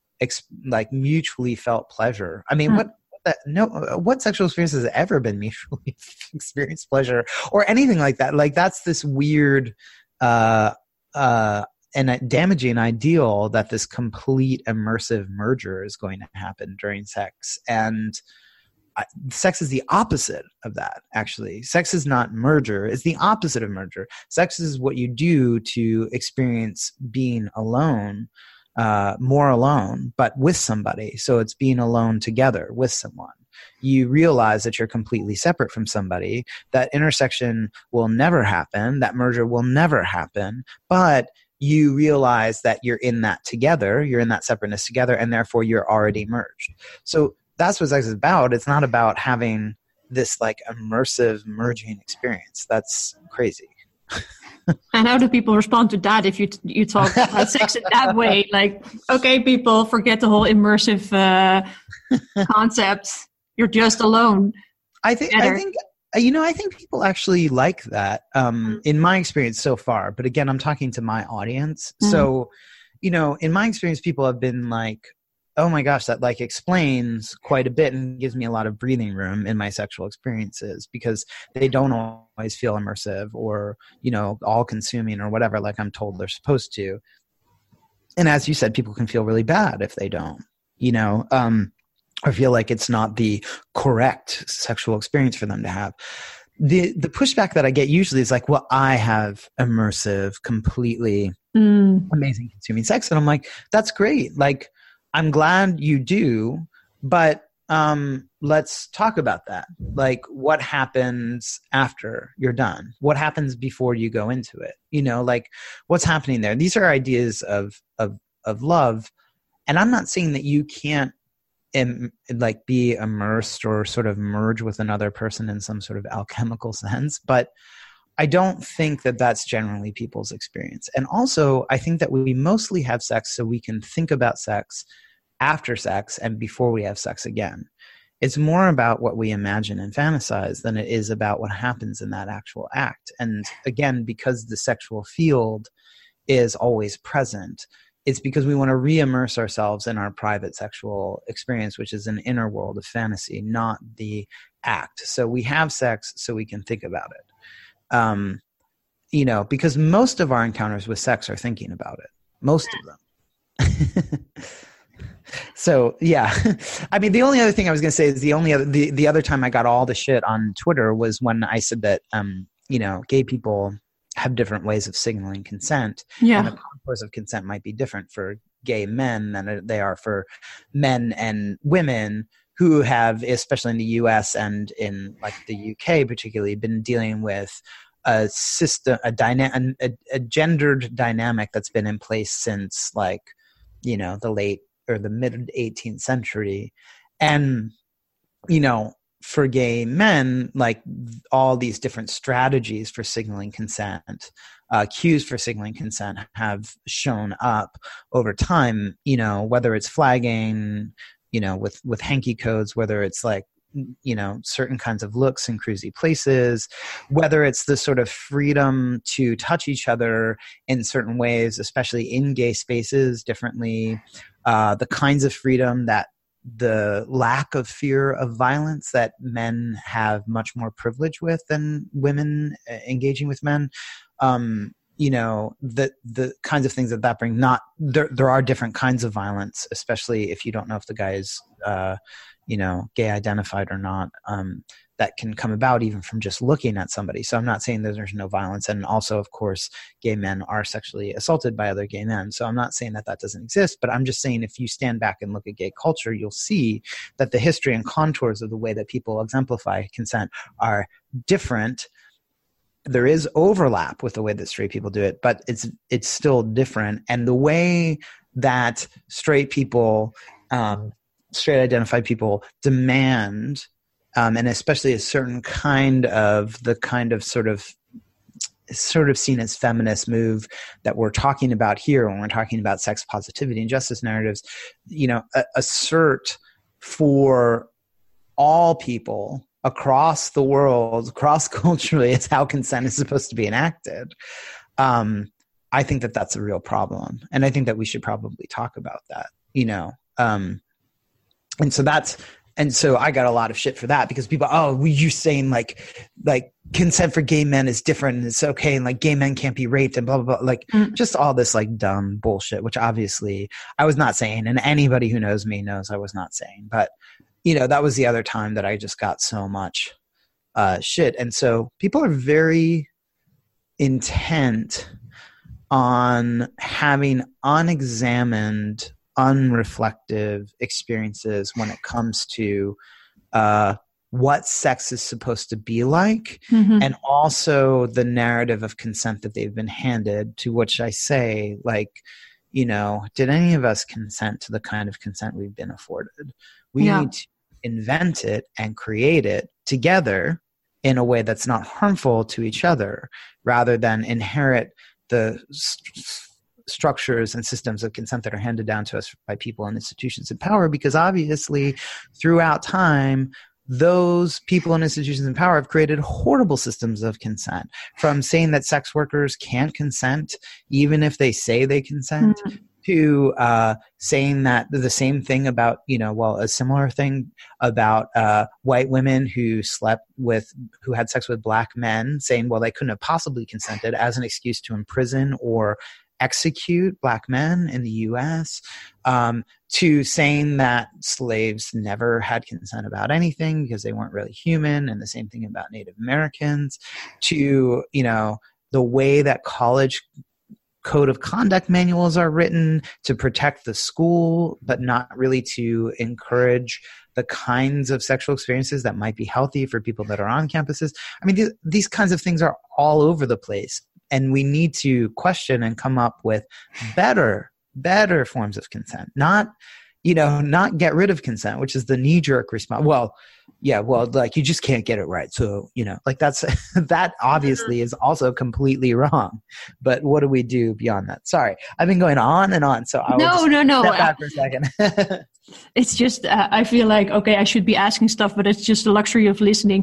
S2: felt pleasure. I mean, what sexual experience has ever been mutually experienced pleasure or anything like that? Like that's this weird and a damaging ideal that this complete immersive merger is going to happen during sex. And sex is the opposite of that, actually. Sex is not merger. It's the opposite of merger. Sex is what you do to experience being alone, more alone, but with somebody. So it's being alone together with someone. You realize that you're completely separate from somebody. That intersection will never happen. That merger will never happen. But you realize that you're in that together. You're in that separateness together, and therefore you're already merged. So that's what sex is about. It's not about having this like immersive merging experience. That's crazy.
S1: And how do people respond to that if you talk about sex in that way? Like, okay, people, forget the whole immersive concept. You're just alone.
S2: I think people actually like that in my experience so far. But again, I'm talking to my audience. So, in my experience, people have been like, oh my gosh, that like explains quite a bit and gives me a lot of breathing room in my sexual experiences, because they don't always feel immersive or, all consuming or whatever, like I'm told they're supposed to. And as you said, people can feel really bad if they don't, or feel like it's not the correct sexual experience for them to have. The pushback that I get usually is like, well, I have immersive, completely amazing consuming sex. And I'm like, that's great. Like, I'm glad you do, but let's talk about that. Like, what happens after you're done? What happens before you go into it? Like, what's happening there? These are ideas of love, and I'm not saying that you can't be immersed or sort of merge with another person in some sort of alchemical sense, but I don't think that that's generally people's experience. And also, I think that we mostly have sex so we can think about sex after sex and before we have sex again. It's more about what we imagine and fantasize than it is about what happens in that actual act. And again, because the sexual field is always present, it's because we want to re-immerse ourselves in our private sexual experience, which is an inner world of fantasy, not the act. So we have sex so we can think about it. Because most of our encounters with sex are thinking about it. Most of them. So, yeah. I mean, the only other thing I was going to say is the other time I got all the shit on Twitter was when I said that, gay people have different ways of signaling consent.
S1: Yeah.
S2: And the contours of consent might be different for gay men than they are for men and women who have, especially in the US and in like the UK particularly, been dealing with a system, a gendered dynamic that's been in place since like, you know, the late or the mid 18th century. And, you know, for gay men, like all these different strategies for signaling consent, cues for signaling consent have shown up over time, you know, whether it's flagging, you know, with hanky codes, whether it's like, you know, certain kinds of looks in cruisy places, whether it's the sort of freedom to touch each other in certain ways, especially in gay spaces differently, the kinds of freedom that the lack of fear of violence that men have much more privilege with than women engaging with men. You know, the kinds of things that bring, not there are different kinds of violence, especially if you don't know if the guy is, you know, gay identified or not, that can come about even from just looking at somebody. So I'm not saying that there's no violence. And also, of course, gay men are sexually assaulted by other gay men. So I'm not saying that doesn't exist, but I'm just saying if you stand back and look at gay culture, you'll see that the history and contours of the way that people exemplify consent are different. There is overlap with the way that straight people do it, but it's still different. And the way that straight people, straight identified people demand, and especially a certain kind of sort of seen as feminist move that we're talking about here when we're talking about sex positivity and justice narratives, you know, assert for all people across the world, cross-culturally, it's how consent is supposed to be enacted. I think that that's a real problem. And I think that we should probably talk about that, you know. And so I got a lot of shit for that because people, you saying like consent for gay men is different and it's okay and like gay men can't be raped and blah, blah, blah. Like just all this like dumb bullshit, which obviously I was not saying. And anybody who knows me knows I was not saying. But, you know, that was the other time that I just got so much shit. And so people are very intent on having unexamined, unreflective experiences when it comes to what sex is supposed to be like, and also the narrative of consent that they've been handed, to which I say, like, you know, did any of us consent to the kind of consent we've been afforded? We need to invent it and create it together in a way that's not harmful to each other, rather than inherit the structures and systems of consent that are handed down to us by people and institutions in power. Because obviously throughout time, those people and institutions in power have created horrible systems of consent, from saying that sex workers can't consent even if they say they consent, to saying that the same thing about, you know, well, a similar thing about white women who had sex with black men, saying, well, they couldn't have possibly consented, as an excuse to imprison or execute black men in the US, to saying that slaves never had consent about anything because they weren't really human, and the same thing about Native Americans, to, you know, the way that college code of conduct manuals are written to protect the school, but not really to encourage the kinds of sexual experiences that might be healthy for people that are on campuses. I mean, these kinds of things are all over the place. And we need to question and come up with better forms of consent. Not get rid of consent, which is the knee-jerk response. Well, like you just can't get it right. So, you know, like that obviously is also completely wrong. But what do we do beyond that? Sorry, I've been going on and on. So
S1: no.
S2: Step back for a second.
S1: It's just, I feel like, okay, I should be asking stuff, but it's just the luxury of listening.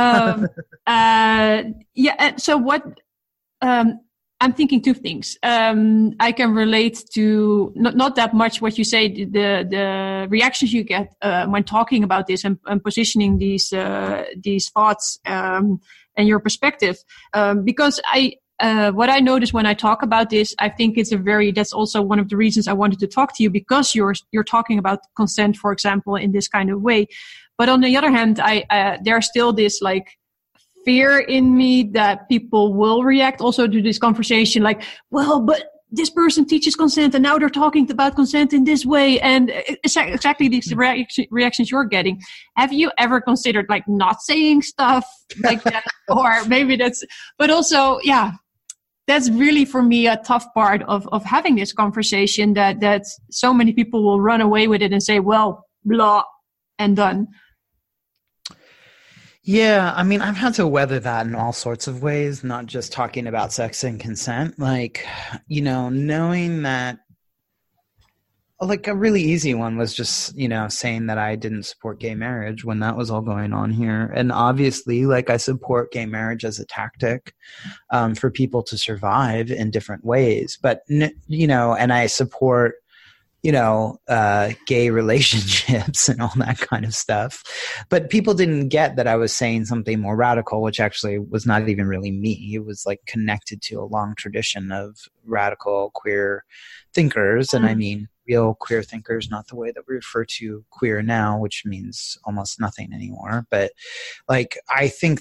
S1: So what, I'm thinking two things. I can relate to not that much what you say, the reactions you get when talking about this and positioning these thoughts and your perspective. Because what I notice when I talk about this, I think that's also one of the reasons I wanted to talk to you, because you're talking about consent, for example, in this kind of way. But on the other hand, there's still this like fear in me that people will react also to this conversation like, well, but this person teaches consent and now they're talking about consent in this way. And exactly these reactions you're getting. Have you ever considered like not saying stuff like that? Or maybe but also, that's really for me a tough part of having this conversation that so many people will run away with it and say, well, blah, and done.
S2: Yeah, I mean, I've had to weather that in all sorts of ways, not just talking about sex and consent. Like, knowing that, like a really easy one was just, saying that I didn't support gay marriage when that was all going on here. And obviously, like, I support gay marriage as a tactic for people to survive in different ways. But, and I support gay relationships and all that kind of stuff. But people didn't get that I was saying something more radical, which actually was not even really me. It was like connected to a long tradition of radical queer thinkers. And I mean, real queer thinkers, not the way that we refer to queer now, which means almost nothing anymore. But like, I think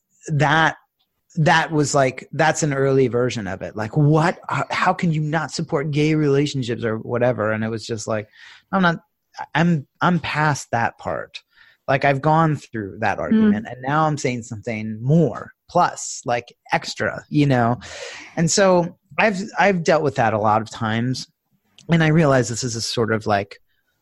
S2: that was like, that's an early version of it. Like, what, how can you not support gay relationships or whatever? And it was just like, I'm past that part. Like, I've gone through that argument and now I'm saying something more plus, like extra, And so I've dealt with that a lot of times. And I realize this is a sort of like,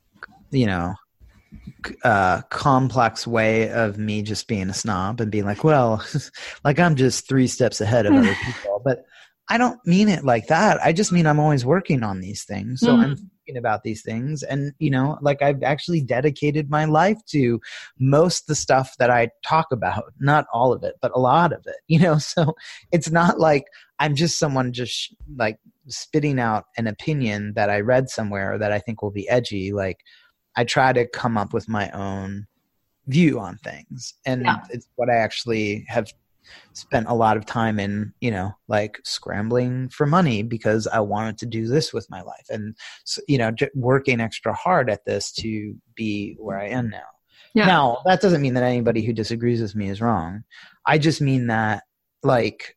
S2: complex way of me just being a snob and being like, well, like I'm just 3 steps ahead of other people. But I don't mean it like that. I just mean I'm always working on these things. So I'm thinking about these things. And, like I've actually dedicated my life to most of the stuff that I talk about, not all of it, but a lot of it, So it's not like I'm just someone just like spitting out an opinion that I read somewhere that I think will be edgy. Like, I try to come up with my own view on things. And it's what I actually have spent a lot of time in, like scrambling for money because I wanted to do this with my life. And, so, working extra hard at this to be where I am now. Yeah. Now, that doesn't mean that anybody who disagrees with me is wrong. I just mean that, like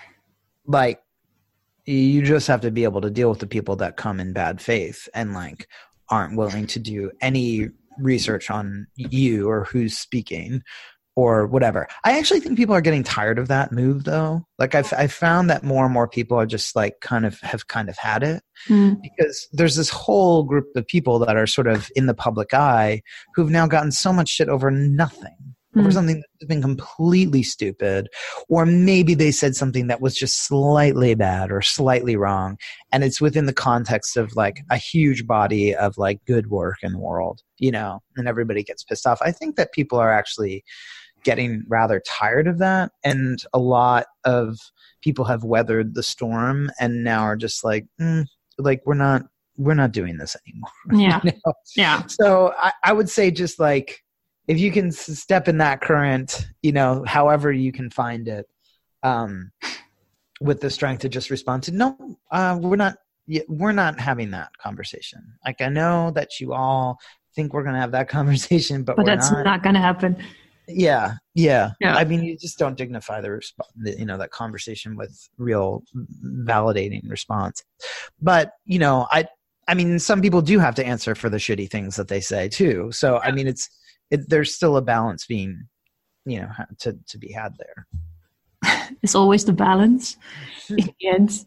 S2: you just have to be able to deal with the people that come in bad faith and, like, aren't willing to do any research on you or who's speaking or whatever. I actually think people are getting tired of that move, though. Like, I've found that more and more people are just like have had it because there's this whole group of people that are sort of in the public eye who've now gotten so much shit over nothing. Over something that's been completely stupid, or maybe they said something that was just slightly bad or slightly wrong, and it's within the context of like a huge body of like good work in the world, and everybody gets pissed off. I think that people are actually getting rather tired of that, and a lot of people have weathered the storm and now are just like, like we're not doing this anymore.
S1: Yeah. Yeah.
S2: So I would say just like, if you can step in that current, however you can find it, with the strength to just respond to, no, we're not having that conversation. Like, I know that you all think we're going to have that conversation, but
S1: that's not going to happen.
S2: Yeah. I mean, you just don't dignify that conversation with real validating response. But, I mean, some people do have to answer for the shitty things that they say too. So, I mean, there's still a balance being, to be had there.
S1: It's always the balance in the end.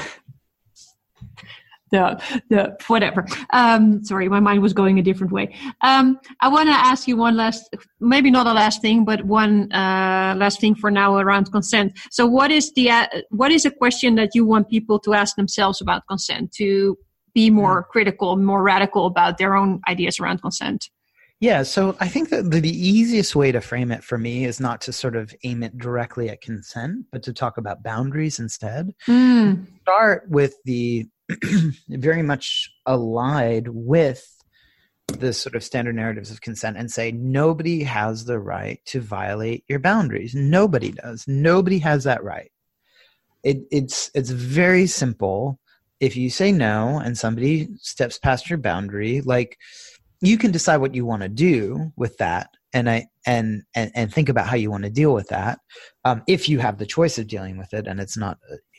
S1: the whatever. Sorry, my mind was going a different way. I want to ask you one last, maybe not a last thing, but one last thing for now around consent. So what is a question that you want people to ask themselves about consent, to be more critical, more radical about their own ideas around consent?
S2: Yeah, so I think that the easiest way to frame it for me is not to sort of aim it directly at consent, but to talk about boundaries instead. Start with the very much allied with the sort of standard narratives of consent and say, nobody has the right to violate your boundaries. Nobody does. Nobody has that right. It's very simple. If you say no and somebody steps past your boundary, like, you can decide what you want to do with that, and think about how you want to deal with that. If you have the choice of dealing with it, and it's not,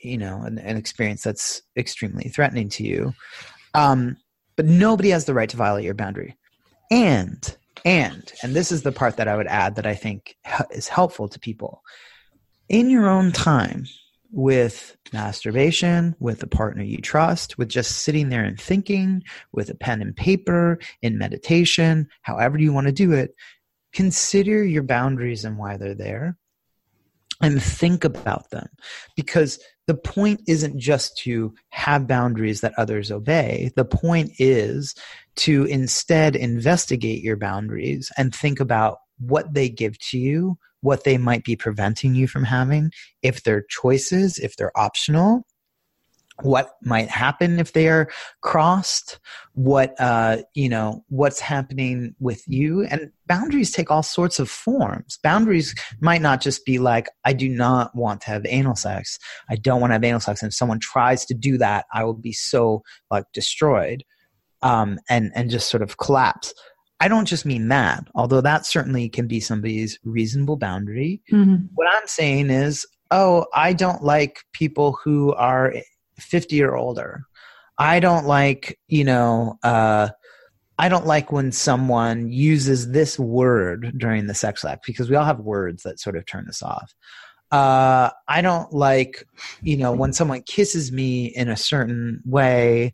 S2: an experience that's extremely threatening to you. But nobody has the right to violate your boundary. And this is the part that I would add that I think is helpful to people. In your own time, with masturbation, with a partner you trust, with just sitting there and thinking, with a pen and paper, in meditation, however you want to do it, consider your boundaries and why they're there, and think about them. Because the point isn't just to have boundaries that others obey. The point is to instead investigate your boundaries and think about what they give to you, what they might be preventing you from having, if they're choices, if they're optional, what might happen if they are crossed, what's happening with you. And boundaries take all sorts of forms. Boundaries might not just be like, I do not want to have anal sex. I don't want to have anal sex. And if someone tries to do that, I will be so destroyed and just sort of collapse. I don't just mean that, although that certainly can be somebody's reasonable boundary. Mm-hmm. What I'm saying is, I don't like people who are 50 or older. I don't like, I don't like when someone uses this word during the sex act, because we all have words that sort of turn us off. I don't like, when someone kisses me in a certain way,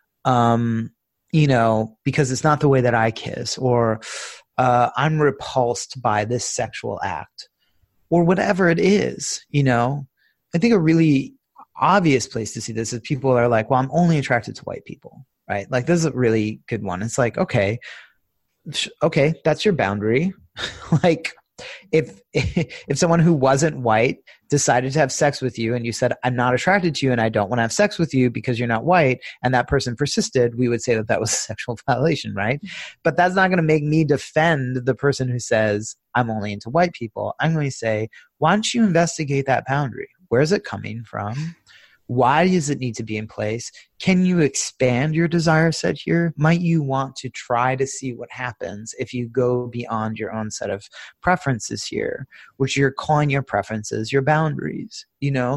S2: because it's not the way that I kiss, or I'm repulsed by this sexual act, or whatever it is. I think a really obvious place to see this is people are like, well, I'm only attracted to white people, right? Like, this is a really good one. It's like, okay, that's your boundary. Like, if someone who wasn't white decided to have sex with you and you said, I'm not attracted to you and I don't want to have sex with you because you're not white, and that person persisted, we would say that was a sexual violation, right? But that's not going to make me defend the person who says, I'm only into white people. I'm going to say, why don't you investigate that boundary? Where's it coming from? Why does it need to be in place? Can you expand your desire set here? Might you want to try to see what happens if you go beyond your own set of preferences here, which you're calling your preferences your boundaries?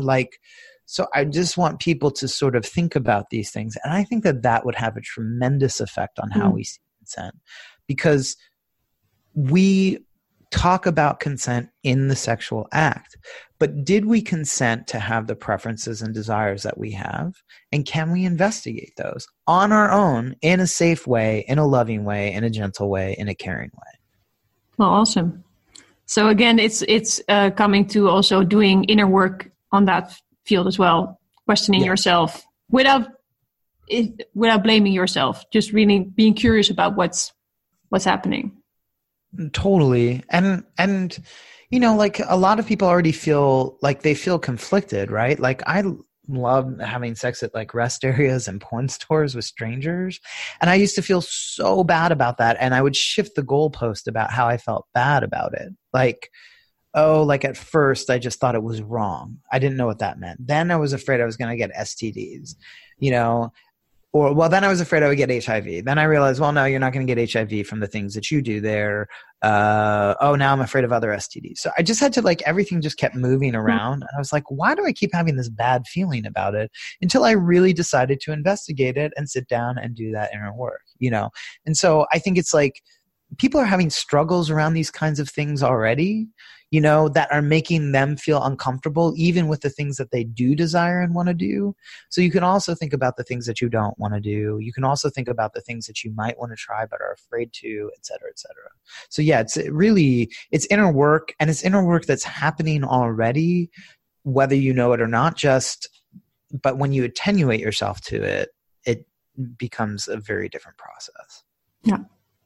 S2: So I just want people to sort of think about these things. And I think that would have a tremendous effect on how we see consent, because we talk about consent in the sexual act, but did we consent to have the preferences and desires that we have? And can we investigate those on our own, in a safe way, in a loving way, in a gentle way, in a caring way?
S1: Well, awesome. So again, it's coming to also doing inner work on that field as well, questioning yourself without blaming yourself, just really being curious about what's happening.
S2: Totally. And a lot of people already feel like they feel conflicted, right? Like, I love having sex at rest areas and porn stores with strangers. And I used to feel so bad about that. And I would shift the goalpost about how I felt bad about it. At first I just thought it was wrong. I didn't know what that meant. Then I was afraid I was going to get STDs, then I was afraid I would get HIV. Then I realized, well, no, you're not going to get HIV from the things that you do there. Now I'm afraid of other STDs. So I just had to everything just kept moving around. And I was like, why do I keep having this bad feeling about it? Until I really decided to investigate it and sit down and do that inner work, And so I think it's people are having struggles around these kinds of things already, that are making them feel uncomfortable, even with the things that they do desire and want to do. So you can also think about the things that you don't want to do. You can also think about the things that you might want to try but are afraid to, et cetera, et cetera. So yeah, it's inner work, and it's inner work that's happening already, whether you know it or not, but when you attenuate yourself to it, it becomes a very different process.
S1: Yeah.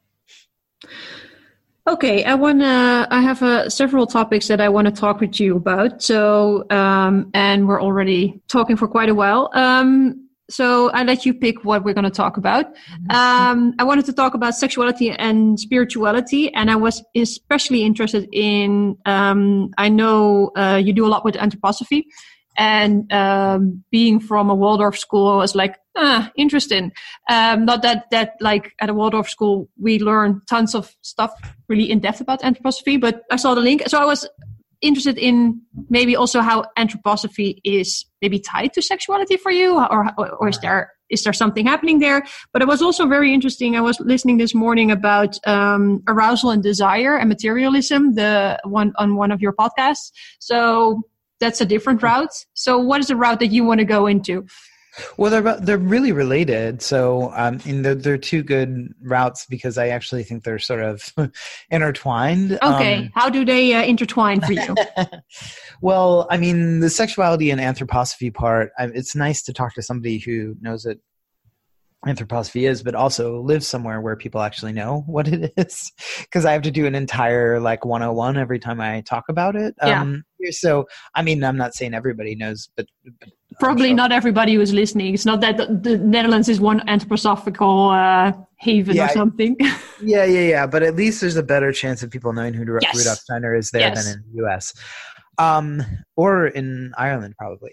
S1: Okay, I have several topics that I want to talk with you about. So, and we're already talking for quite a while. So I let you pick what we're going to talk about. I wanted to talk about sexuality and spirituality, and I was especially interested in, I know you do a lot with anthroposophy, and being from a Waldorf school, I was like, interesting. Not that at a Waldorf school, we learn tons of stuff really in depth about anthroposophy, but I saw the link. So I was interested in maybe also how anthroposophy is maybe tied to sexuality for you, or is there something happening there? But it was also very interesting. I was listening this morning about arousal and desire and materialism, on one of your podcasts. So that's a different route. So what is the route that you want to go into?
S2: Well, they're really related. So, they're two good routes because I actually think they're sort of intertwined.
S1: Okay, how do they intertwine for you?
S2: Well, I mean, the sexuality and anthroposophy part. It's nice to talk to somebody who knows what anthroposophy is, but also lives somewhere where people actually know what it is. Because I have to do an entire 101 every time I talk about it.
S1: Yeah.
S2: So, I mean, I'm not saying everybody knows, but
S1: probably
S2: sure.
S1: Not everybody who is listening. It's not that the Netherlands is one anthroposophical haven or something.
S2: Yeah. But at least there's a better chance of people knowing who Rudolf Steiner is there than in the US. Or in Ireland, probably.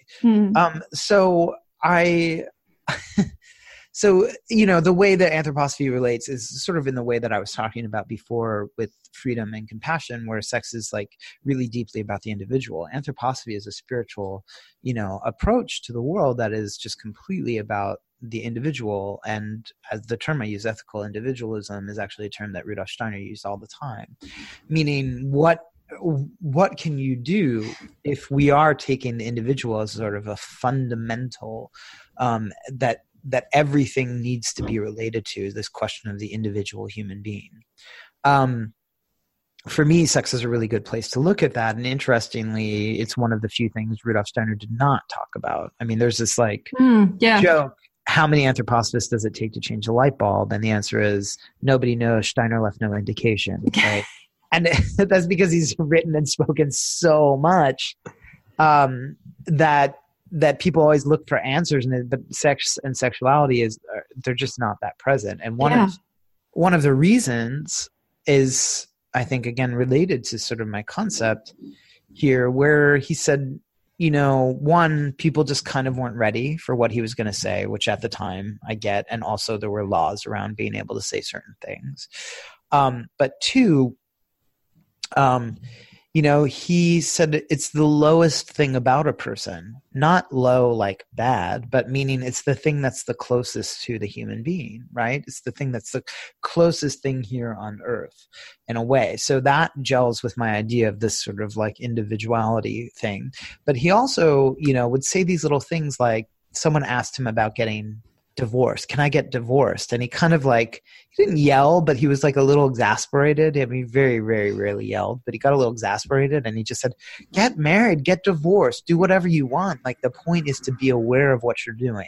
S2: So, the way that anthroposophy relates is sort of in the way that I was talking about before with freedom and compassion, where sex is really deeply about the individual. Anthroposophy is a spiritual, approach to the world that is just completely about the individual. And as the term I use, ethical individualism, is actually a term that Rudolf Steiner used all the time, meaning what can you do if we are taking the individual as sort of a fundamental that everything needs to be related to, this question of the individual human being. For me, sex is a really good place to look at that. And interestingly, it's one of the few things Rudolf Steiner did not talk about. I mean, there's this joke, how many anthroposophists does it take to change a light bulb? And the answer is nobody knows. Steiner left no indication, right? And that's because he's written and spoken so much that people always look for answers, but sex and sexuality they're just not that present. And one of the reasons is, I think, again, related to sort of my concept here, where he said, one, people just kind of weren't ready for what he was going to say, which at the time I get. And also there were laws around being able to say certain things. But two, he said it's the lowest thing about a person, not low like bad, but meaning it's the thing that's the closest to the human being, right? It's the thing that's the closest thing here on earth in a way. So that gels with my idea of this sort of individuality thing. But he also, would say these little things like someone asked him about getting divorced. Can I get divorced? And he kind of he didn't yell, but he was a little exasperated. I mean, very, very rarely yelled, but he got a little exasperated and he just said, get married, get divorced, do whatever you want. The point is to be aware of what you're doing,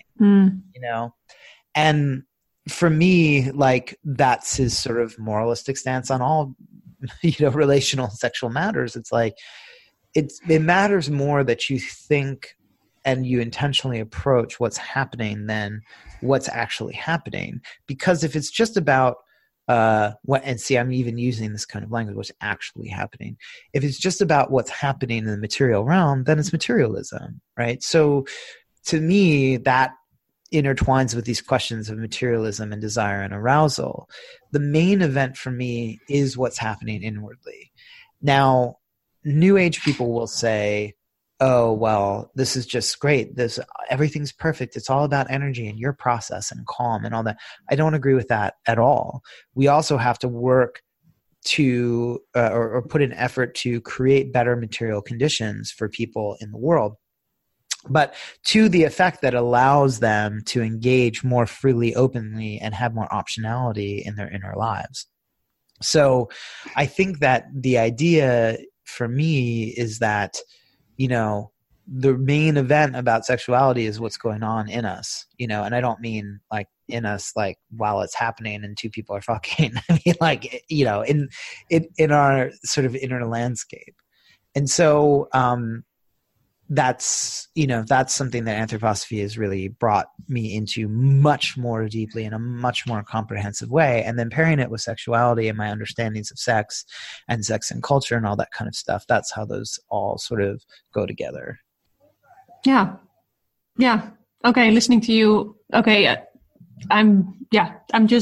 S2: And for me, that's his sort of moralistic stance on all, relational sexual matters. It's it matters more that you think and you intentionally approach what's happening than what's actually happening. Because if it's just about and see, I'm even using this kind of language, what's actually happening. If it's just about what's happening in the material realm, then it's materialism, right? So to me, that intertwines with these questions of materialism and desire and arousal. The main event for me is what's happening inwardly. Now, New Age people will say, oh, well, this is just great. Everything's perfect. It's all about energy and your process and calm and all that. I don't agree with that at all. We also have to work to or put an effort to create better material conditions for people in the world, but to the effect that allows them to engage more freely, openly, and have more optionality in their inner lives. So I think that the idea for me is that the main event about sexuality is what's going on in us, and I don't mean in us, while it's happening and two people are fucking. I mean, in our sort of inner landscape. And so, that's something that anthroposophy has really brought me into much more deeply in a much more comprehensive way. And then pairing it with sexuality and my understandings of sex and culture and all that kind of stuff. That's how those all sort of go together.
S1: Yeah. Okay. Listening to you. Okay. I'm just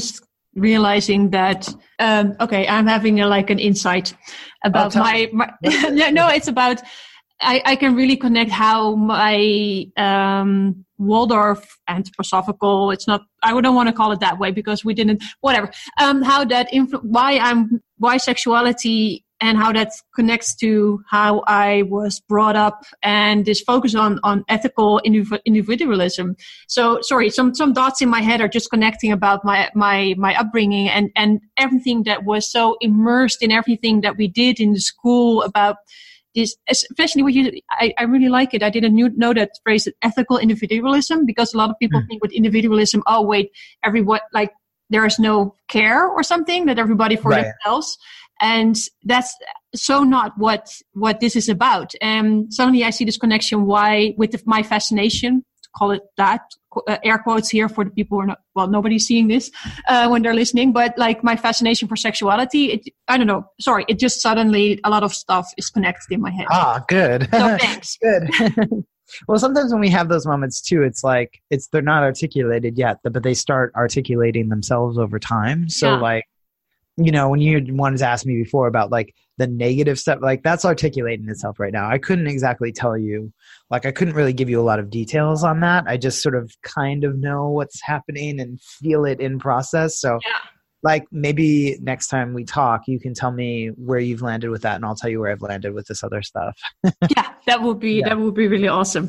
S1: realizing that, okay, I'm having an insight about my no, it's about, I can really connect how my Waldorf anthroposophical, it's not, I don't want to call it that way because we didn't, whatever, how that why sexuality and how that connects to how I was brought up and this focus on ethical individualism. So sorry, some dots in my head are just connecting about my upbringing and everything that was so immersed in everything that we did in the school about this, especially I really like it. I didn't know that phrase, ethical individualism, because a lot of people think with individualism, oh wait, everyone, like there is no care or something, that everybody for themselves. And that's so not what this is about. And suddenly I see this connection with my fascination, to call it that, air quotes here for the people who are not, well, nobody's seeing this when they're listening, but like my fascination for sexuality, I don't know, sorry, it just suddenly, a lot of stuff is connected in my head.
S2: Ah, good.
S1: So thanks.
S2: Good. Well, sometimes when we have those moments too, it's like, they're not articulated yet, but they start articulating themselves over time. So like, when you wanted to ask me before about like the negative stuff, like that's articulating itself right now. I couldn't exactly tell you, like I couldn't really give you a lot of details on that. I just sort of kind of know what's happening and feel it in process. So like maybe next time we talk, you can tell me where you've landed with that and I'll tell you where I've landed with this other stuff.
S1: Yeah, that would be really awesome.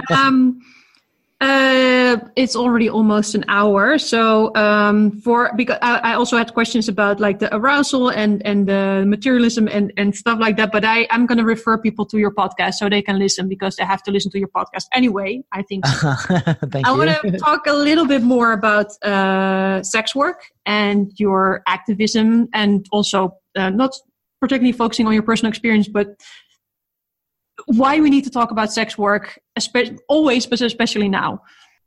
S1: It's already almost an hour. So, because I also had questions about like the arousal and the materialism and stuff like that, but I'm going to refer people to your podcast so they can listen because they have to listen to your podcast anyway, I think.
S2: Thank you.
S1: I want to talk a little bit more about, sex work and your activism, and also, not particularly focusing on your personal experience, but why we need to talk about sex work, always, but especially now.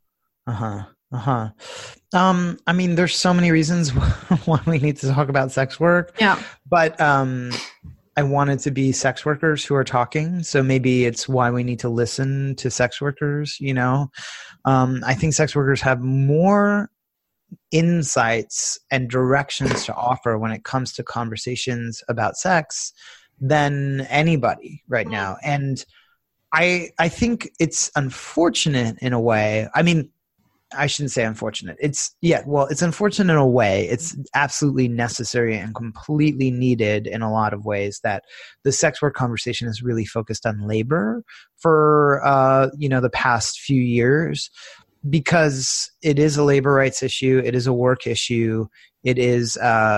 S2: I mean, there's so many reasons why we need to talk about sex work.
S1: Yeah.
S2: But I want it to be sex workers who are talking. So maybe it's why we need to listen to sex workers, I think sex workers have more insights and directions to offer when it comes to conversations about sex than anybody right now. And I think it's unfortunate in a way. I mean, I shouldn't say unfortunate. It's unfortunate in a way. It's absolutely necessary and completely needed in a lot of ways that the sex work conversation is really focused on labor for, the past few years, because it is a labor rights issue. It is a work issue. It is,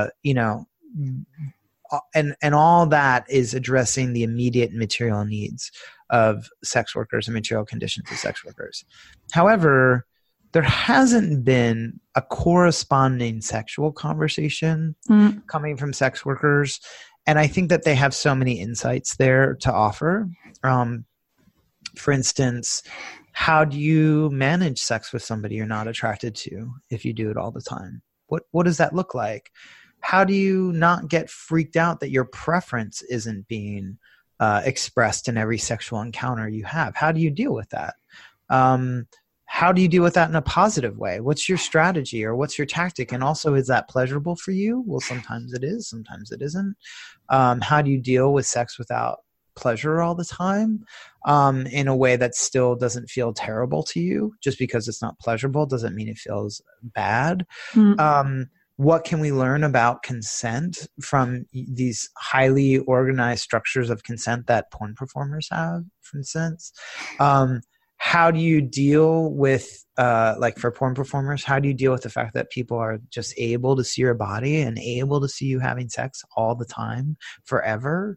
S2: and all that is addressing the immediate material needs of sex workers and material conditions of sex workers. However, there hasn't been a corresponding sexual conversation coming from sex workers. And I think that they have so many insights there to offer. For instance, how do you manage sex with somebody you're not attracted to if you do it all the time? What does that look like? How do you not get freaked out that your preference isn't being expressed in every sexual encounter you have? How do you deal with that? How do you deal with that in a positive way? What's your strategy or what's your tactic? And also, is that pleasurable for you? Well, sometimes it is, sometimes it isn't. How do you deal with sex without pleasure all the time in a way that still doesn't feel terrible to you? Just because it's not pleasurable doesn't mean it feels bad. What can we learn about consent from these highly organized structures of consent that porn performers have, for instance? How do you deal with, for porn performers, how do you deal with the fact that people are just able to see your body and able to see you having sex all the time, forever?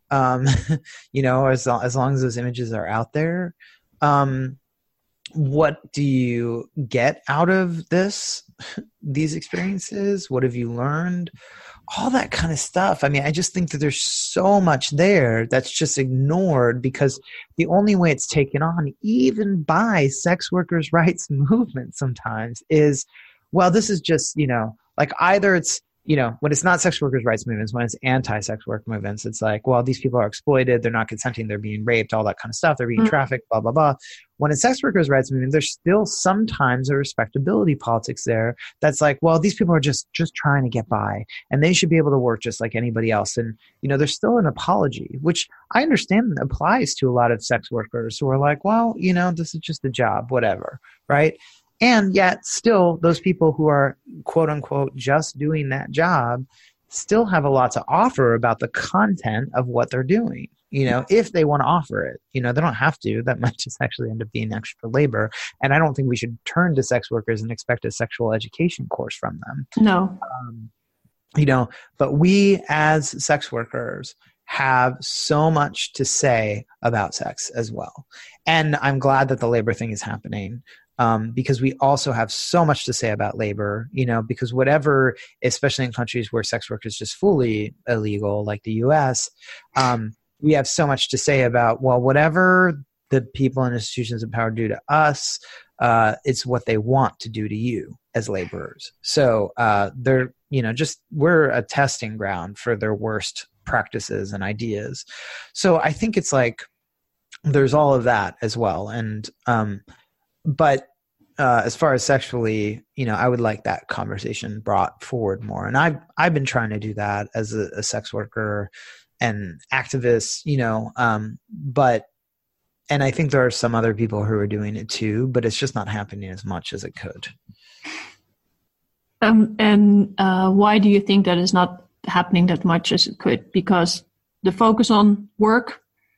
S2: As long as those images are out there. What do you get out of these experiences? What have you learned? All that kind of stuff. I mean, I just think that there's so much there that's just ignored because the only way it's taken on, even by sex workers' rights movement sometimes, is, well, this is just, either it's
S3: when it's not sex workers' rights movements, when it's anti-sex work movements, it's like, well, these people are exploited, they're not consenting, they're being raped, all that kind of stuff, they're being trafficked, blah, blah, blah. When it's sex workers' rights movement, there's still sometimes a respectability politics there that's like, well, these people are just trying to get by, and they should be able to work just like anybody else. And, there's still an apology, which I understand applies to a lot of sex workers who are like, well, this is just a job, whatever, right? And yet still those people who are quote unquote just doing that job still have a lot to offer about the content of what they're doing, if they want to offer it. They don't have to. That might just actually end up being extra labor. And I don't think we should turn to sex workers and expect a sexual education course from them.
S1: No.
S3: But we as sex workers have so much to say about sex as well. And I'm glad that the labor thing is happening. Because we also have so much to say about labor, because whatever, especially in countries where sex work is just fully illegal, like the US, we have so much to say about, well, whatever the people and institutions of power do to us, it's what they want to do to you as laborers. So they're, we're a testing ground for their worst practices and ideas. So I think it's like, there's all of that as well. And, but as far as sexually, I would like that conversation brought forward more. And I've been trying to do that as a sex worker and activist, and I think there are some other people who are doing it too, but it's just not happening as much as it could.
S1: And why do you think that is not happening that much as it could? Because the focus on work?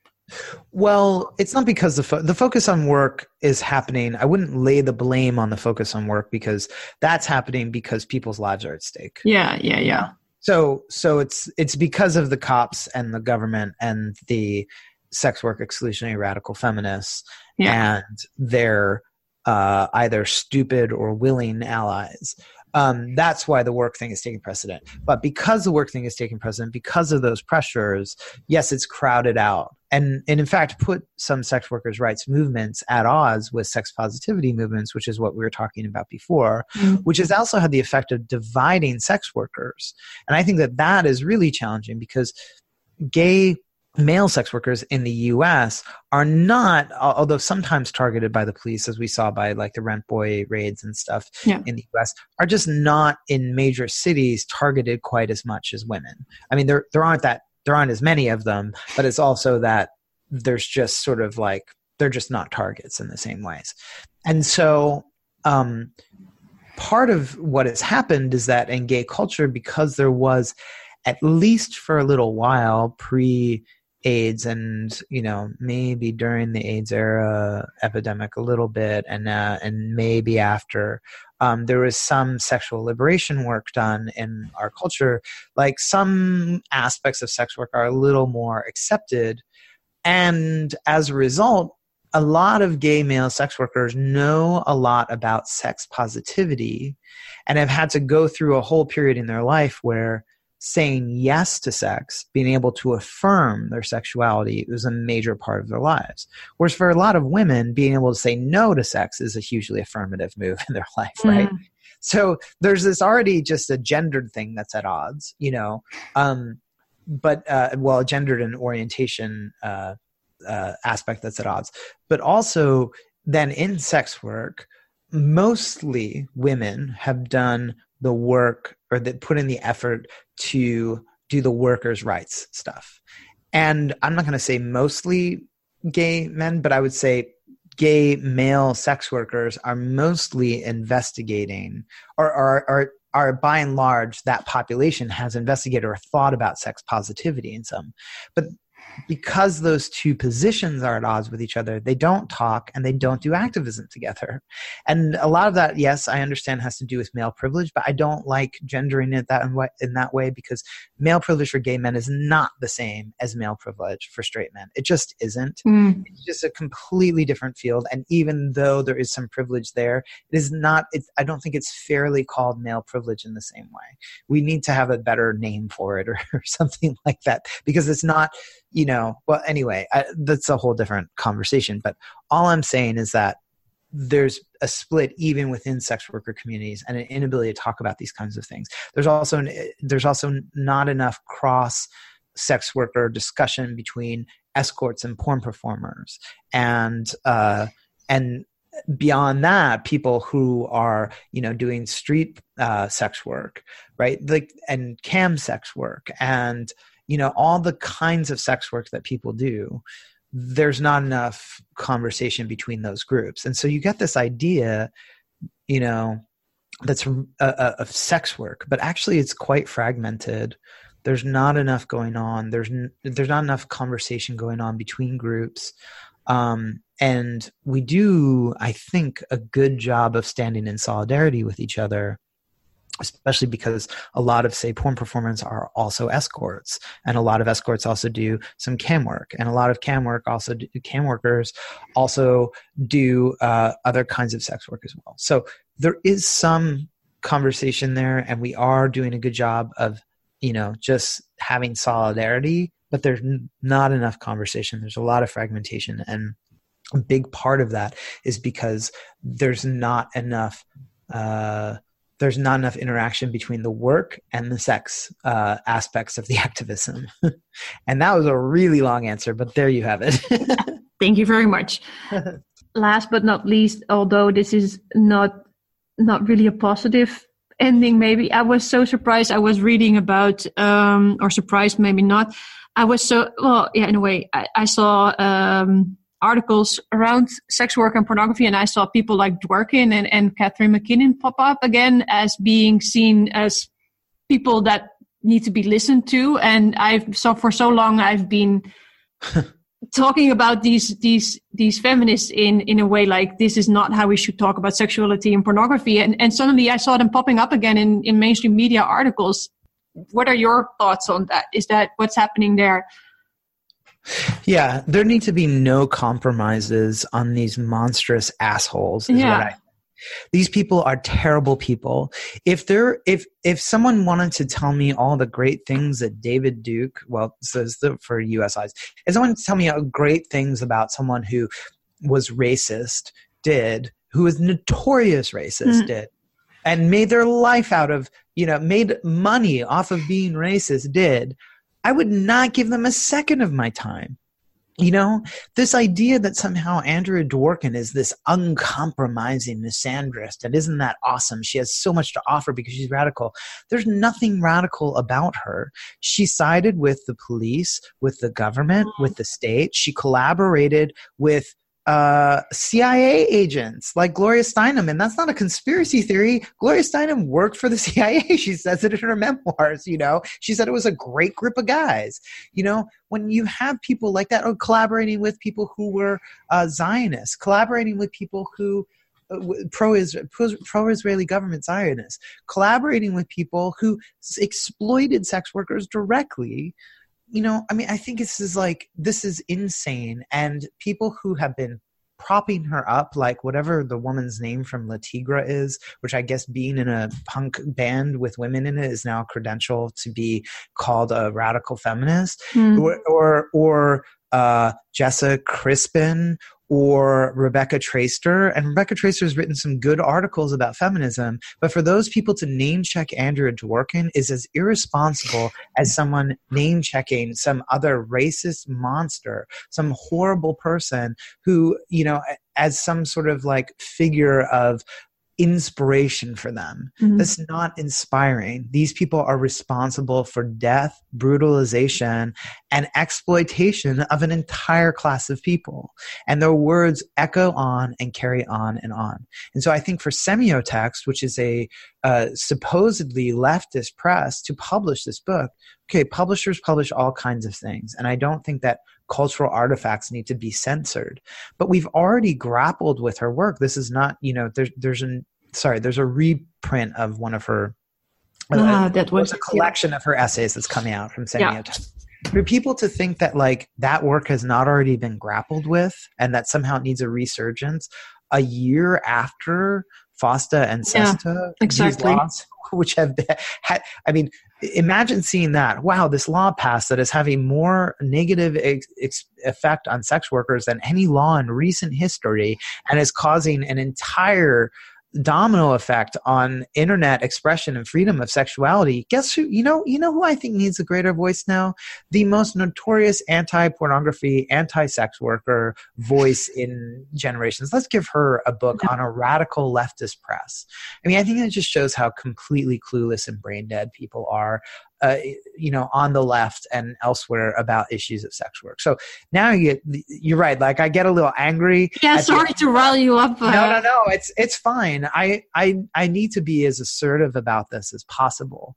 S3: Well, it's not because the focus on work is happening. I wouldn't lay the blame on the focus on work, because that's happening because people's lives are at stake.
S1: Yeah.
S3: So it's because of the cops and the government and the sex work exclusionary radical feminists and their either stupid or willing allies. That's why the work thing is taking precedent. But because the work thing is taking precedent, because of those pressures, yes, it's crowded out. And in fact, put some sex workers' rights movements at odds with sex positivity movements, which is what we were talking about before, which has also had the effect of dividing sex workers. And I think that is really challenging, because gay male sex workers in the US are not, although sometimes targeted by the police, as we saw by like the Rent Boy raids and stuff in the US, are just not in major cities targeted quite as much as women. I mean, there aren't as many of them, but it's also that there's just sort of like, they're just not targets in the same ways. And so part of what has happened is that in gay culture, because there was, at least for a little while, pre-AIDS and, maybe during the AIDS era epidemic a little bit, and maybe after, there was some sexual liberation work done in our culture. Like some aspects of sex work are a little more accepted. And as a result, a lot of gay male sex workers know a lot about sex positivity and have had to go through a whole period in their life where saying yes to sex, being able to affirm their sexuality, was a major part of their lives. Whereas for a lot of women, being able to say no to sex is a hugely affirmative move in their life, right? So there's this already just a gendered thing that's at odds, a gendered and orientation aspect that's at odds. But also then in sex work, mostly women have done the work, or that put in the effort to do the workers' rights stuff. And I'm not going to say mostly gay men, but I would say gay male sex workers are mostly investigating, or are by and large, that population has investigated or thought about sex positivity in some. But because those two positions are at odds with each other, they don't talk and they don't do activism together. And a lot of that, yes, I understand, has to do with male privilege, but I don't like gendering it in that way, because male privilege for gay men is not the same as male privilege for straight men. It just isn't. It's just a completely different field. And even though there is some privilege there, it is not, I don't think it's fairly called male privilege in the same way. We need to have a better name for it, or something like that, because it's not, well, anyway, that's a whole different conversation. But all I'm saying is that there's a split even within sex worker communities and an inability to talk about these kinds of things. There's also not enough cross sex worker discussion between escorts and porn performers, and beyond that, people who are, doing street sex work, right? Like, and cam sex work, and all the kinds of sex work that people do. There's not enough conversation between those groups, and so you get this idea, that's of sex work, but actually it's quite fragmented. There's not enough going on. There's not enough conversation going on between groups. And we do, I think, a good job of standing in solidarity with each other, especially because a lot of, say, porn performers are also escorts, and a lot of escorts also do some cam work, and a lot of cam workers also do other kinds of sex work as well. So there is some conversation there, and we are doing a good job of, just having solidarity, but there's not enough conversation. There's a lot of fragmentation, and a big part of that is because there's not enough interaction between the work and the sex aspects of the activism. And that was a really long answer, but there you have it.
S1: Thank you very much. Last but not least, although this is not really a positive ending, maybe, I was so surprised. I was reading about, or surprised, maybe not. I was so, well, yeah, in a way, I saw articles around sex work and pornography, and I saw people like Dworkin and Catherine McKinnon pop up again as being seen as people that need to be listened to. And for so long I've been talking about these feminists in a way like this is not how we should talk about sexuality and pornography. And suddenly I saw them popping up again in mainstream media articles. What are your thoughts on that? Is that what's happening there?
S3: Yeah, there need to be no compromises on these monstrous assholes. These people are terrible people. If someone wanted to tell me all the great things that David Duke, says for U.S. eyes, if someone to tell me great things about someone who was racist, who was notorious racist, did, and made their life out of, made money off of being racist, I would not give them a second of my time. This idea that somehow Andrea Dworkin is this uncompromising misandrist, and isn't that awesome? She has so much to offer because she's radical. There's nothing radical about her. She sided with the police, with the government, with the state. She collaborated with CIA agents like Gloria Steinem, and that's not a conspiracy theory. Gloria Steinem worked for the CIA. She says it in her memoirs. She said it was a great group of guys. When you have people like that, or collaborating with people who were Zionists, collaborating with people who pro-Israeli government Zionists, collaborating with people who exploited sex workers directly. I think this is insane. And people who have been propping her up, like whatever the woman's name from La Tigra is, which I guess being in a punk band with women in it is now a credential to be called a radical feminist, or Jessa Crispin, or Rebecca Traister. And Rebecca Traister has written some good articles about feminism, but for those people to name check Andrea Dworkin is as irresponsible as someone name checking some other racist monster, some horrible person who, as some sort of like figure of inspiration for them. That's not inspiring. These people are responsible for death, brutalization, and exploitation of an entire class of people. And their words echo on and carry on and on. And so I think for Semiotext, which is a supposedly leftist press, to publish this book, okay, publishers publish all kinds of things. And I don't think that cultural artifacts need to be censored. But we've already grappled with her work. This is not, there's a reprint of one of her, that was a collection of her essays that's coming out from Semiotext. For people to think that that work has not already been grappled with and that somehow it needs a resurgence a year after
S2: FOSTA and SESTA,
S1: exactly.
S2: these laws, which have had, I mean, imagine seeing that. Wow, this law passed that is having more negative effect on sex workers than any law in recent history, and is causing an entire domino effect on internet expression and freedom of sexuality. Guess who? You know who I think needs a greater voice now? The most notorious anti-pornography, anti-sex worker voice in generations. Let's give her a book on a radical leftist press. I mean, I think that just shows how completely clueless and brain dead people are, on the left and elsewhere about issues of sex work. So now you're right. Like, I get a little angry.
S1: Yeah, sorry to rile you up.
S2: No. It's fine. I need to be as assertive about this as possible.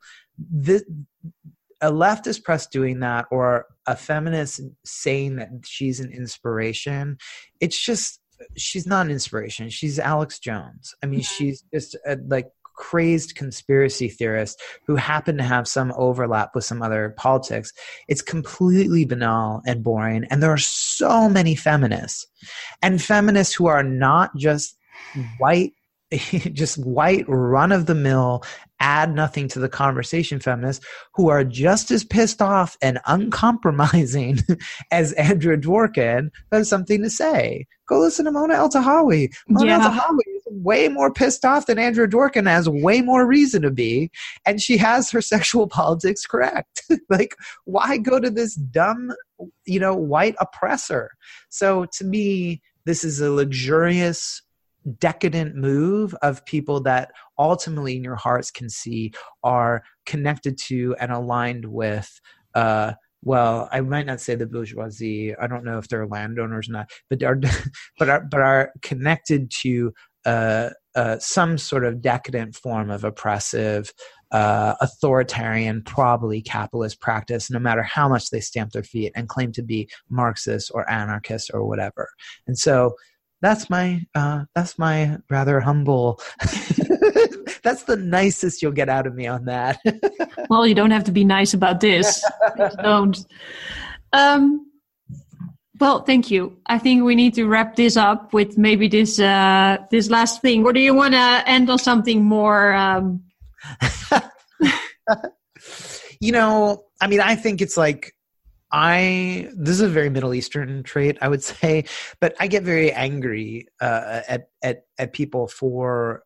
S2: A leftist press doing that, or a feminist saying that she's an inspiration, she's not an inspiration. She's Alex Jones. I mean, she's just crazed conspiracy theorist who happen to have some overlap with some other politics. It's completely banal and boring. And there are so many feminists, and feminists who are not just white, run-of-the-mill, add nothing to the conversation feminists, who are just as pissed off and uncompromising as Andrea Dworkin, who has something to say. Go listen to Mona Eltahawy. Mona Eltahawy is way more pissed off than Andrea Dworkin, has way more reason to be, and she has her sexual politics correct. Like, why go to this dumb, white oppressor? So to me, this is a luxurious, decadent move of people that ultimately in your hearts can see are connected to and aligned with, well, I might not say the bourgeoisie. I don't know if they're landowners or not, but are connected to some sort of decadent form of oppressive, authoritarian, probably capitalist practice, no matter how much they stamp their feet and claim to be Marxist or anarchist or whatever. And so that's my rather humble. That's the nicest you'll get out of me on that.
S1: Well, you don't have to be nice about this. Don't. Well, thank you. I think we need to wrap this up with maybe this last thing. Or do you want to end on something more?
S2: I think it's like, this is a very Middle Eastern trait, I would say, but I get very angry at people for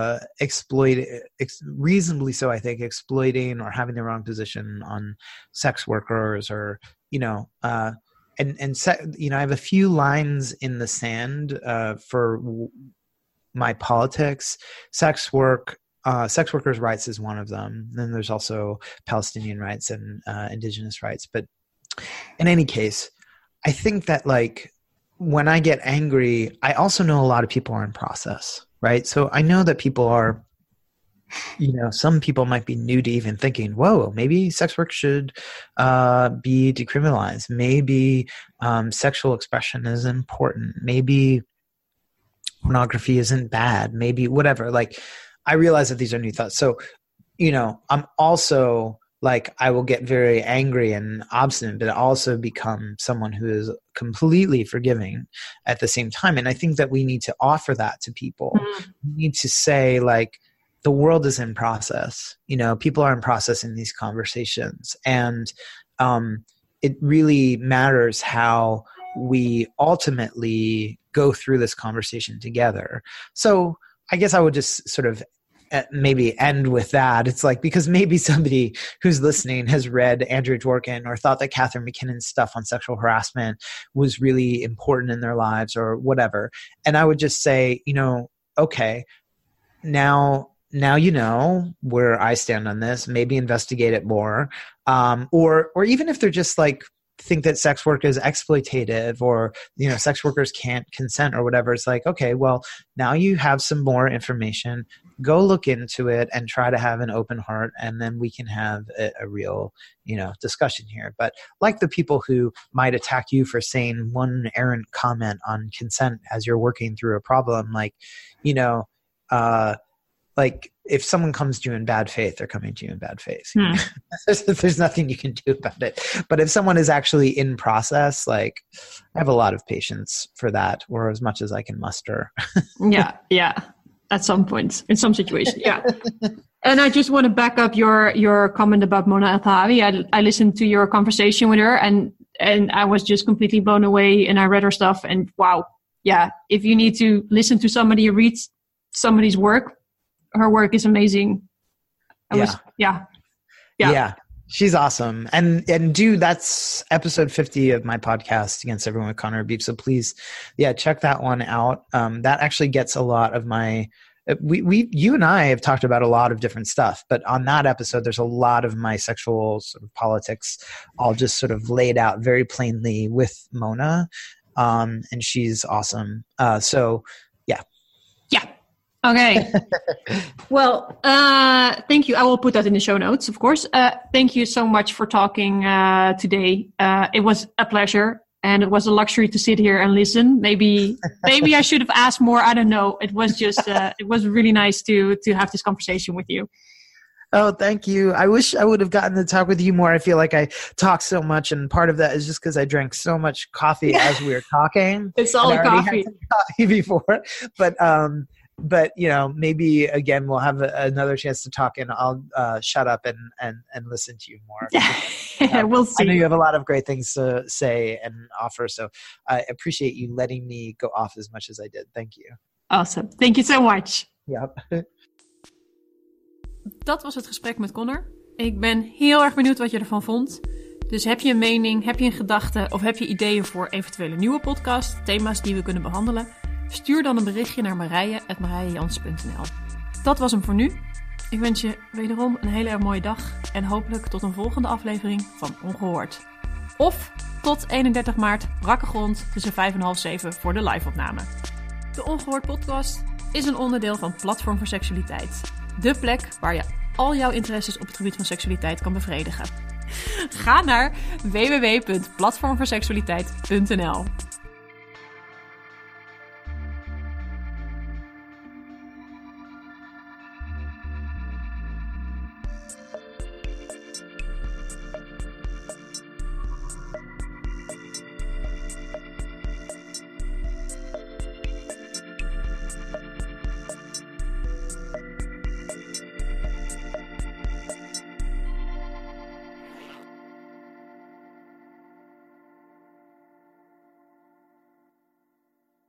S2: reasonably so, I think, exploiting or having the wrong position on sex workers, or I have a few lines in the sand for my politics. Sex workers' rights is one of them. Then there's also Palestinian rights and indigenous rights, but in any case, I think that when I get angry, I also know a lot of people are in process, right? So I know that people are, some people might be new to even thinking, whoa, maybe sex work should be decriminalized. Maybe sexual expression is important. Maybe pornography isn't bad. Maybe whatever. I realize that these are new thoughts. So, I'm also I will get very angry and obstinate, but also become someone who is completely forgiving at the same time. And I think that we need to offer that to people. Mm-hmm. We need to say, the world is in process. People are in process in these conversations. And it really matters how we ultimately go through this conversation together. So I guess I would just sort of maybe end with that. It's because maybe somebody who's listening has read Andrea Dworkin or thought that Catherine McKinnon's stuff on sexual harassment was really important in their lives or whatever. And I would just say, okay, now you know where I stand on this. Maybe investigate it more. Or even if they're just think that sex work is exploitative, or sex workers can't consent or whatever, it's okay, well, now you have some more information. Go look into it and try to have an open heart, and then we can have a real discussion here. But the people who might attack you for saying one errant comment on consent as you're working through a problem, if someone comes to you in bad faith, they're coming to you in bad faith. There's nothing you can do about it. But if someone is actually in process, I have a lot of patience for that, or as much as I can muster.
S1: Yeah. at some point in some situation. Yeah. And I just want to back up your comment about Mona Eltahawy. I listened to your conversation with her and I was just completely blown away, and I read her stuff and wow. Yeah. If you need to listen to somebody read somebody's work, her work is amazing.
S3: Yeah. She's awesome. And that's episode 50 of my podcast, Against Everyone with Conor Habib. So please, check that one out. That actually gets a lot of my, you and I have talked about a lot of different stuff, but on that episode, there's a lot of my sexual sort of politics all just sort of laid out very plainly with Mona. And she's awesome.
S1: Yeah. Okay. Well, thank you. I will put that in the show notes, of course. Thank you so much for talking today. It was a pleasure, and it was a luxury to sit here and listen. Maybe I should have asked more. I don't know. It was just, it was really nice to have this conversation with you.
S3: Oh, thank you. I wish I would have gotten to talk with you more. I feel like I talk so much, and part of that is just because I drank so much coffee as we were talking.
S1: It's all coffee.
S3: Had coffee before, but maybe again we'll have another chance to talk, and I'll shut up and listen to you more.
S1: We'll see.
S3: I know you have a lot of great things to say and offer, so I appreciate you letting me go off as much as I did. Thank you.
S1: Awesome. Thank you so much.
S3: Yep.
S1: Dat was het gesprek met Conor. Ik ben heel erg benieuwd wat je ervan vond. Dus heb je een mening, heb je een gedachte of heb je ideeën voor eventuele nieuwe podcast, thema's die we kunnen behandelen? Stuur dan een berichtje naar marije@marijejans.nl. Dat was hem voor nu. Ik wens je wederom een hele erg mooie dag en hopelijk tot een volgende aflevering van Ongehoord. Of tot 31 maart brakke grond tussen 5 en half 7 voor de live-opname. De Ongehoord podcast is een onderdeel van Platform voor Seksualiteit. De plek waar je al jouw interesses op het gebied van seksualiteit kan bevredigen. Ga naar www.platformvoorseksualiteit.nl.